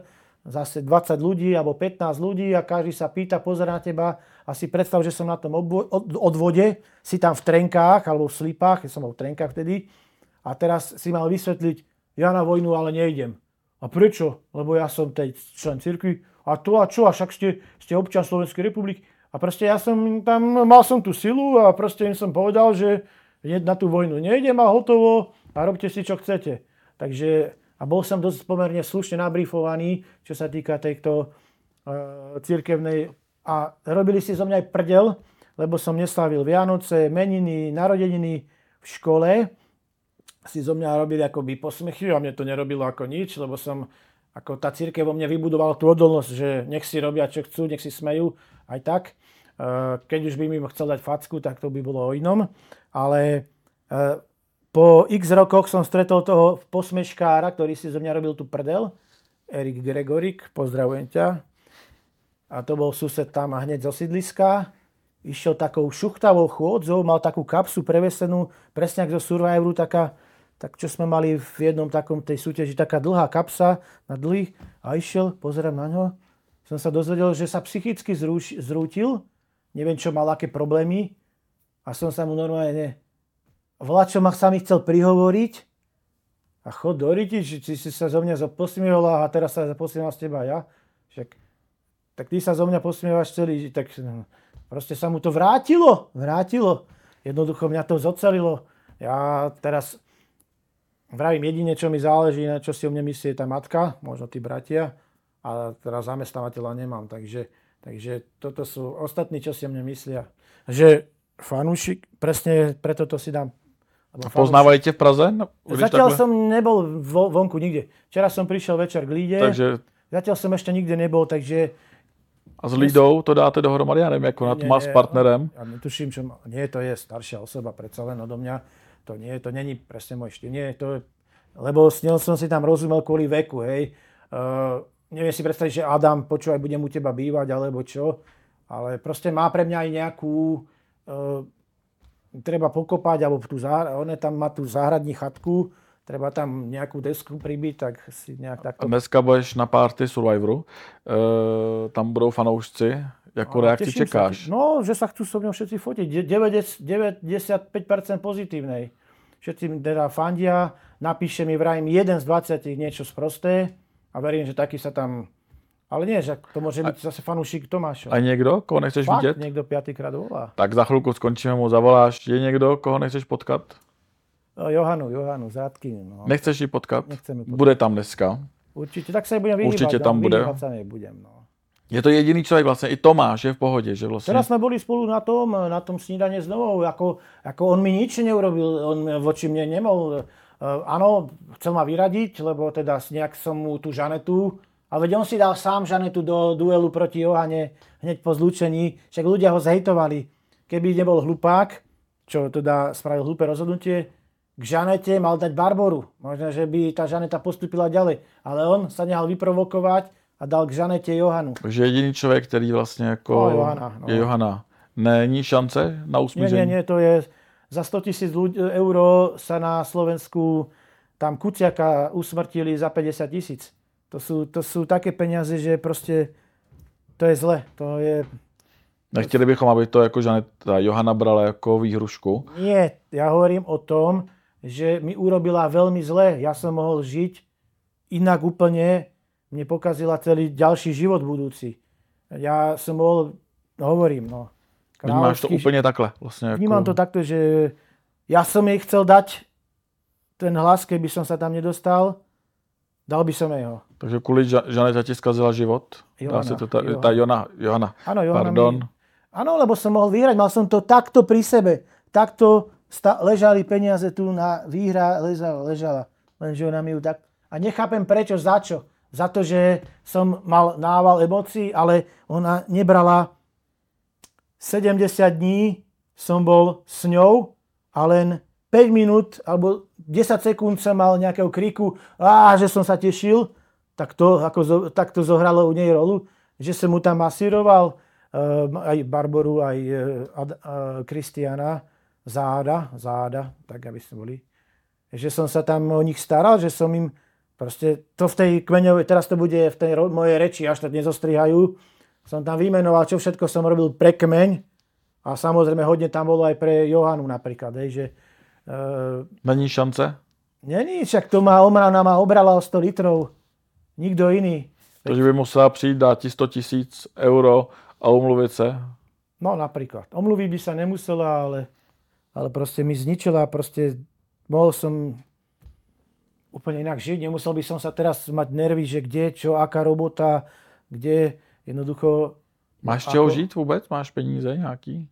zase dvadsať ľudí alebo pätnásť ľudí a každý sa pýta, pozerá na teba a si predstav, že som na tom obvo- od- odvode, si tam v trenkách alebo v slipách, ja som bol v trenkách vtedy a teraz si mal vysvetliť, ja na vojnu ale nejdem. A prečo? Lebo ja som tej člen cirkvi a to a čo, a však ste, ste občan Slovenskej republiky. A proste ja som tam, mal som tú silu a proste im som povedal, že na tú vojnu nejdem a hotovo a robte si, čo chcete. Takže a bol som dosť pomerne slušne nabrifovaný, čo sa týka tejto uh, cirkevnej. A robili si zo mňa aj prdel, lebo som neslávil Vianoce, meniny, narodeniny v škole. Si zo mňa robili akoby posmechy a mne to nerobilo ako nič, lebo som, ako tá cirkev vo mne vybudovala tú odolnosť, že nech si robia, čo chcú, nech si smejú, aj tak. Uh, keď už by mi chcel dať facku, tak to by bolo o inom. Ale uh, po x rokoch som stretol toho posmeškára, ktorý si zo mňa robil tú prdel. Erik Gregorik, pozdravujem ťa. A to bol sused tam a hneď zo sídliska. Išiel takou šuchtavou chôdzou, mal takú kapsu prevesenú, presne ako zo Survivoru, taká, tak čo sme mali v jednom takom tej súťaži, taká dlhá kapsa na dlhých. A išiel, pozerám na ňo. Som sa dozvedel, že sa psychicky zrúš, zrútil. Neviem, čo mal, aké problémy. A som sa mu normálne... Vlačo ma sa mi chcel prihovoriť a chod do riti, či, či si sa zo mňa posmiehol a teraz sa posmievam z teba ja. Však, tak ty sa zo mňa posmievaš celý, tak proste sa mu to vrátilo, vrátilo. Jednoducho mňa to zocelilo. Ja teraz vravím jedine, čo mi záleží, na čo si o mne myslí tá matka, možno tí bratia, a teraz zamestnávateľa nemám, takže, takže toto sú ostatní, čo si o mne myslia. Že fanúšik, presne preto to si dám. Poznávajú te v Praze? No, zatiaľ takhle? Som nebol vo, vonku nikde. Včera som prišiel večer k Líde. Takže... Zatiaľ som ešte nikde nebol, takže... A s Lídou to dáte dohromady? Ja neviem, ako na to má s partnerem. Ja netuším, čo má... Nie, to je staršia osoba, predsa len odo mňa. To nie, to není presne môj štýl. Nie, to je... Lebo s ňou som si tam rozumel kvôli veku, hej. Uh, neviem si predstaviť, že Adam, počúvaj, budem u teba bývať, alebo čo. Ale proste má pre mňa aj nejakú... Uh, treba pokopať, alebo tú záhrad, on tam má tú záhradní chatku, treba tam nejakú desku pribiť, tak si nejak takto... Dneska budeš na party Survivoru, e, tam budou fanoušci, ako reakci čekáš? Sa, no, že sa chcú so mnou všetci fotiť, deväťdesiatpäť percent pozitívnej. Všetci teda fandia, napíše mi vrajím jeden z dvadsať niečo sprosté a verím, že taký sa tam... Ale nie, že to môže byť zase fanúšik Tomáša. A niekto, koho nechceš Fakt, vidět? niekto piatýkrát volá. Tak za chvíľku skončíme, mu zavoláš. Je niekto, koho nechceš potkat? Johanu, Johanu, z Radkyne. No. Nechceš ji potkat? Nechcem ju potkat. Bude tam dneska. Určite, tak sa jej budem vyhýbať. Určite tam bude. Vyhýbať sa nebudem, no. Je to jediný človek vlastne, i Tomáš je v pohode, že vlastne... Teraz sme boli spolu na tom, na tom snídane s Novou, ako, ako on mi nič neurobil, on voči mne nemohol. Uh, áno, chcel ma vyradiť, lebo teda nejak som mu tú Žanetu, ale veď on si dal sám Žanetu do duelu proti Johane hneď po zlúčení, však ľudia ho zhejtovali. Keby nebol hlupák, čo teda spravil hlúpe rozhodnutie, k Žanete mal dať Barboru. Možno, že by tá Žaneta postupila ďalej, ale on sa nehal vyprovokovať a dal k Žanete Johanu. Takže jediný človek, který vlastně jako no, Johana, no. je Johana. Není šance na usmíření? Nie, nie, nie, to je za sto tisíc eur sa na Slovensku tam Kuciaka usmrtili za päťdesiat tisíc. To sú, to sú také peniaze, že proste to je zle. To je... Nechtěli bychom, aby to jako Žaneta Johana brala jako výhrušku? Nie, ja hovorím o tom, že mi urobila veľmi zle. Ja som mohol žiť inak úplne, mne pokazila celý ďalší život budúci. Ja som mohol, hovorím, no. Vnímáš to úplne takhle? Vlastne ako... Vnímam to takto, že ja som jej chcel dať ten hlas, keby som sa tam nedostal, dal by som jej ho. Takže kvôli Žaneta ti skazila život? Johana. Dá sa to tá, tá Jona, Johana. Áno, Johana. Pardon. Mi... Áno, lebo som mohol vyhrať, mal som to takto pri sebe. Takto sta- ležali peniaze tu na výhra, ležala, ležala. Lenže ona mi ju tak... A nechápem prečo, za čo. Za to, že som mal nával emócií, ale ona nebrala sedemdesiat dní, som bol s ňou a len päť minút alebo desať sekúnd som mal nejakého kriku, á, že som sa tešil, tak to, ako, tak to zohralo u nej rolu, že som mu tam masíroval uh, aj Barboru, aj Kristiana, uh, uh, záda, záda, tak aby sme boli. Že som sa tam o nich staral, že som im Proste to v tej kmeňovej, teraz to bude v tej ro- mojej reči, až to nezostrihajú. Som tam vymenoval, čo všetko som robil pre kmeň. A samozrejme hodne tam bolo aj pre Johanu napríklad. Hej, že, uh, Není šance? Není, však to má Omrana má obrala o sto litrov. Nikdo iný. Takže by musela přijít, dát ti sto tisíc euro a umluvit se? No napríklad. Omluviť by sa nemusela, ale, ale proste mi zničila. Proste mohol som úplne inak žiť. Nemusel by som sa teraz mať nervy, že kde, čo, aká robota, kde jednoducho... Máš z čeho žít vůbec? Máš peníze nějaký?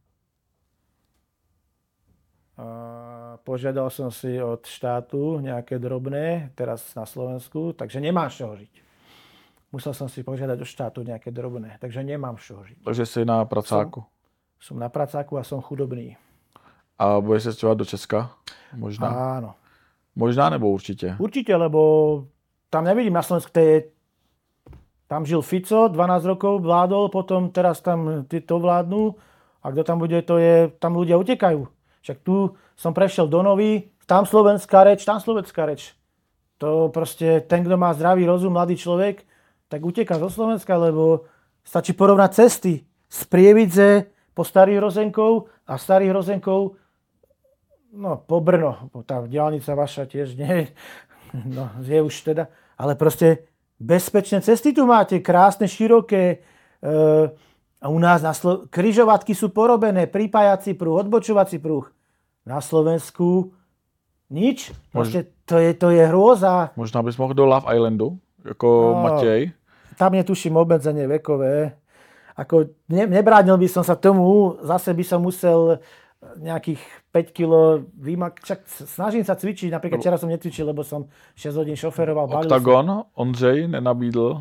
A požiadal som si od štátu nejaké drobné, teraz na Slovensku, takže nemám z čoho žiť. Musel som si požiadať od štátu nejaké drobné, takže nemám z čoho žiť. Takže jsi na pracáku. Som, som na pracáku a som chudobný. A budeš se stěhovat do Česka? Možná. Áno. Možná nebo určitě? Určite, lebo tam nevidím na Slovensku, to je, tam žil Fico, dvanásť rokov vládol, potom teraz tam to vládnu a kto tam bude, to je, tam ľudia utekajú. Však tu som prešiel do Novy, tam slovenská reč, tam slovenská reč. To proste, ten, kto má zdravý rozum, mladý človek, tak uteká zo Slovenska, lebo stačí porovnať cesty z Prievidze po Starých Rozenkov a Starých Rozenkov no, po Brno. Tá diaľnica vaša tiež nie, no, je už teda, ale proste bezpečné cesty tu máte, krásne, široké, e, a u nás na Slo- križovatky sú porobené, pripájací prúh, odbočovací prúh. Na Slovensku nič. Proste to je, to je hrôza. Možná bys mohl do Love Islandu, jako no, Matěj. Tam netuším obmedzenie vekové. Ako ne, nebránil by som sa tomu, zase by som musel nejakých päť kilogramov vymak... Však snažím sa cvičiť, napríklad včera som netvičil, lebo som šesť hodín šoferoval. Octagon, Ondřej nenabídl?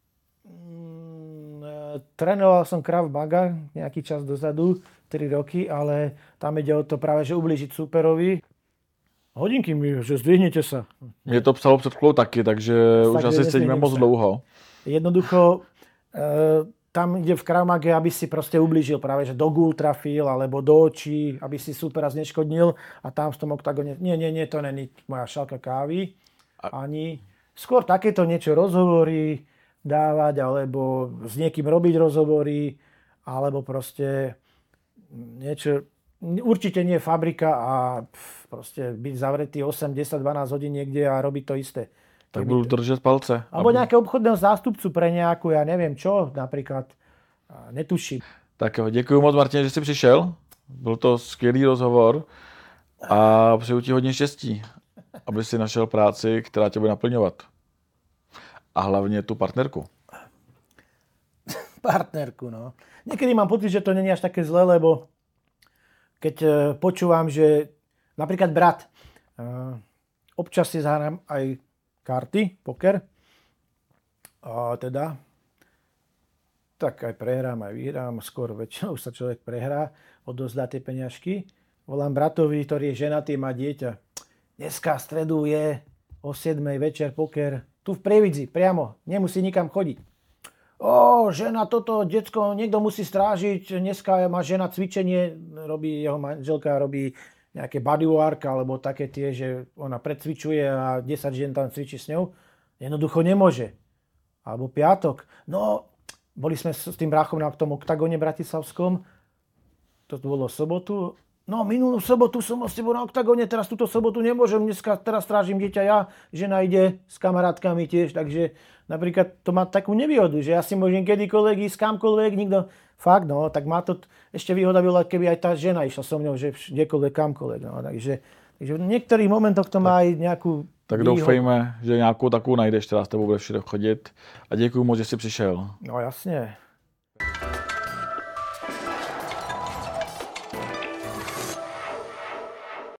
Trénoval som Krav Maga nejaký čas dozadu, tri roky, ale tam ide o to práve, že ublížiť súperovi. Hodinky mi, že zdvihnete sa. Mě to psalo před chvíľou taky, takže tak už asi sedíme moc dlouho. Jednoducho, e, tam ide v Krav Mage, aby si proste ublížil práve, že do gul trafil, alebo do očí, aby si supera zneškodnil a tam v tom oktagone, nie, nie, nie, to není moja šálka kávy, ani. Skôr takéto niečo rozhovory dávať, alebo s niekým robiť rozhovory, alebo proste niečo, určite nie fabrika a proste byť zavretý osem, desať, dvanásť hodín niekde a robiť to isté. Tak budú držať palce. Alebo aby... nejakého obchodného zástupcu pre nejakú, ja neviem čo, napríklad, netuším. Tak jo, děkuji moc, Martin, že jsi přišel. Byl to skvělý rozhovor a přeju ti hodně štěstí, aby si našel práci, která tě bude naplňovat. A hlavne tú partnerku. Partnerku, no. Niekedy mám pocit, že to nie je až také zlé, lebo keď počúvam, že napríklad brat, občas si zahrám aj karty, poker, a teda, tak aj prehrám, aj vyhrám, skôr väčšinou sa človek prehrá, odozdá tie peňažky. Volám bratovi, ktorý je ženatý, má dieťa. Dneska v stredu je o siedmej večer poker, tu v Prievidzi, priamo, nemusí nikam chodiť. Ó, žena, toto, decko, niekto musí strážiť, dneska má žena cvičenie, robí, jeho manželka robí nejaké bodywork, alebo také tie, že ona predcvičuje a desať žien tam cvičí s ňou. Jednoducho nemôže. Alebo piatok. No, boli sme s tým bráchom na tom oktagone bratislavskom, to bolo sobotu. No, minulú sobotu som s tebou na oktagone, teraz túto sobotu nemôžem, dneska teraz strážim dieťa ja, žena ide s kamarátkami tiež, takže napríklad to má takú nevýhodu, že ja si môžem kedykoľvek ísť kamkoľvek, nikto, fakt no, tak má to ešte výhoda byla, keby aj tá žena išla so mňou, že kdekoľvek, kamkoľvek, no, takže, takže v niektorých momentoch to má aj nejakú Tak výhodu. doufejme, že nějakou takovou najdeš, která s tebou bude všude chodit a děkuju moc, že jsi přišel. No jasne.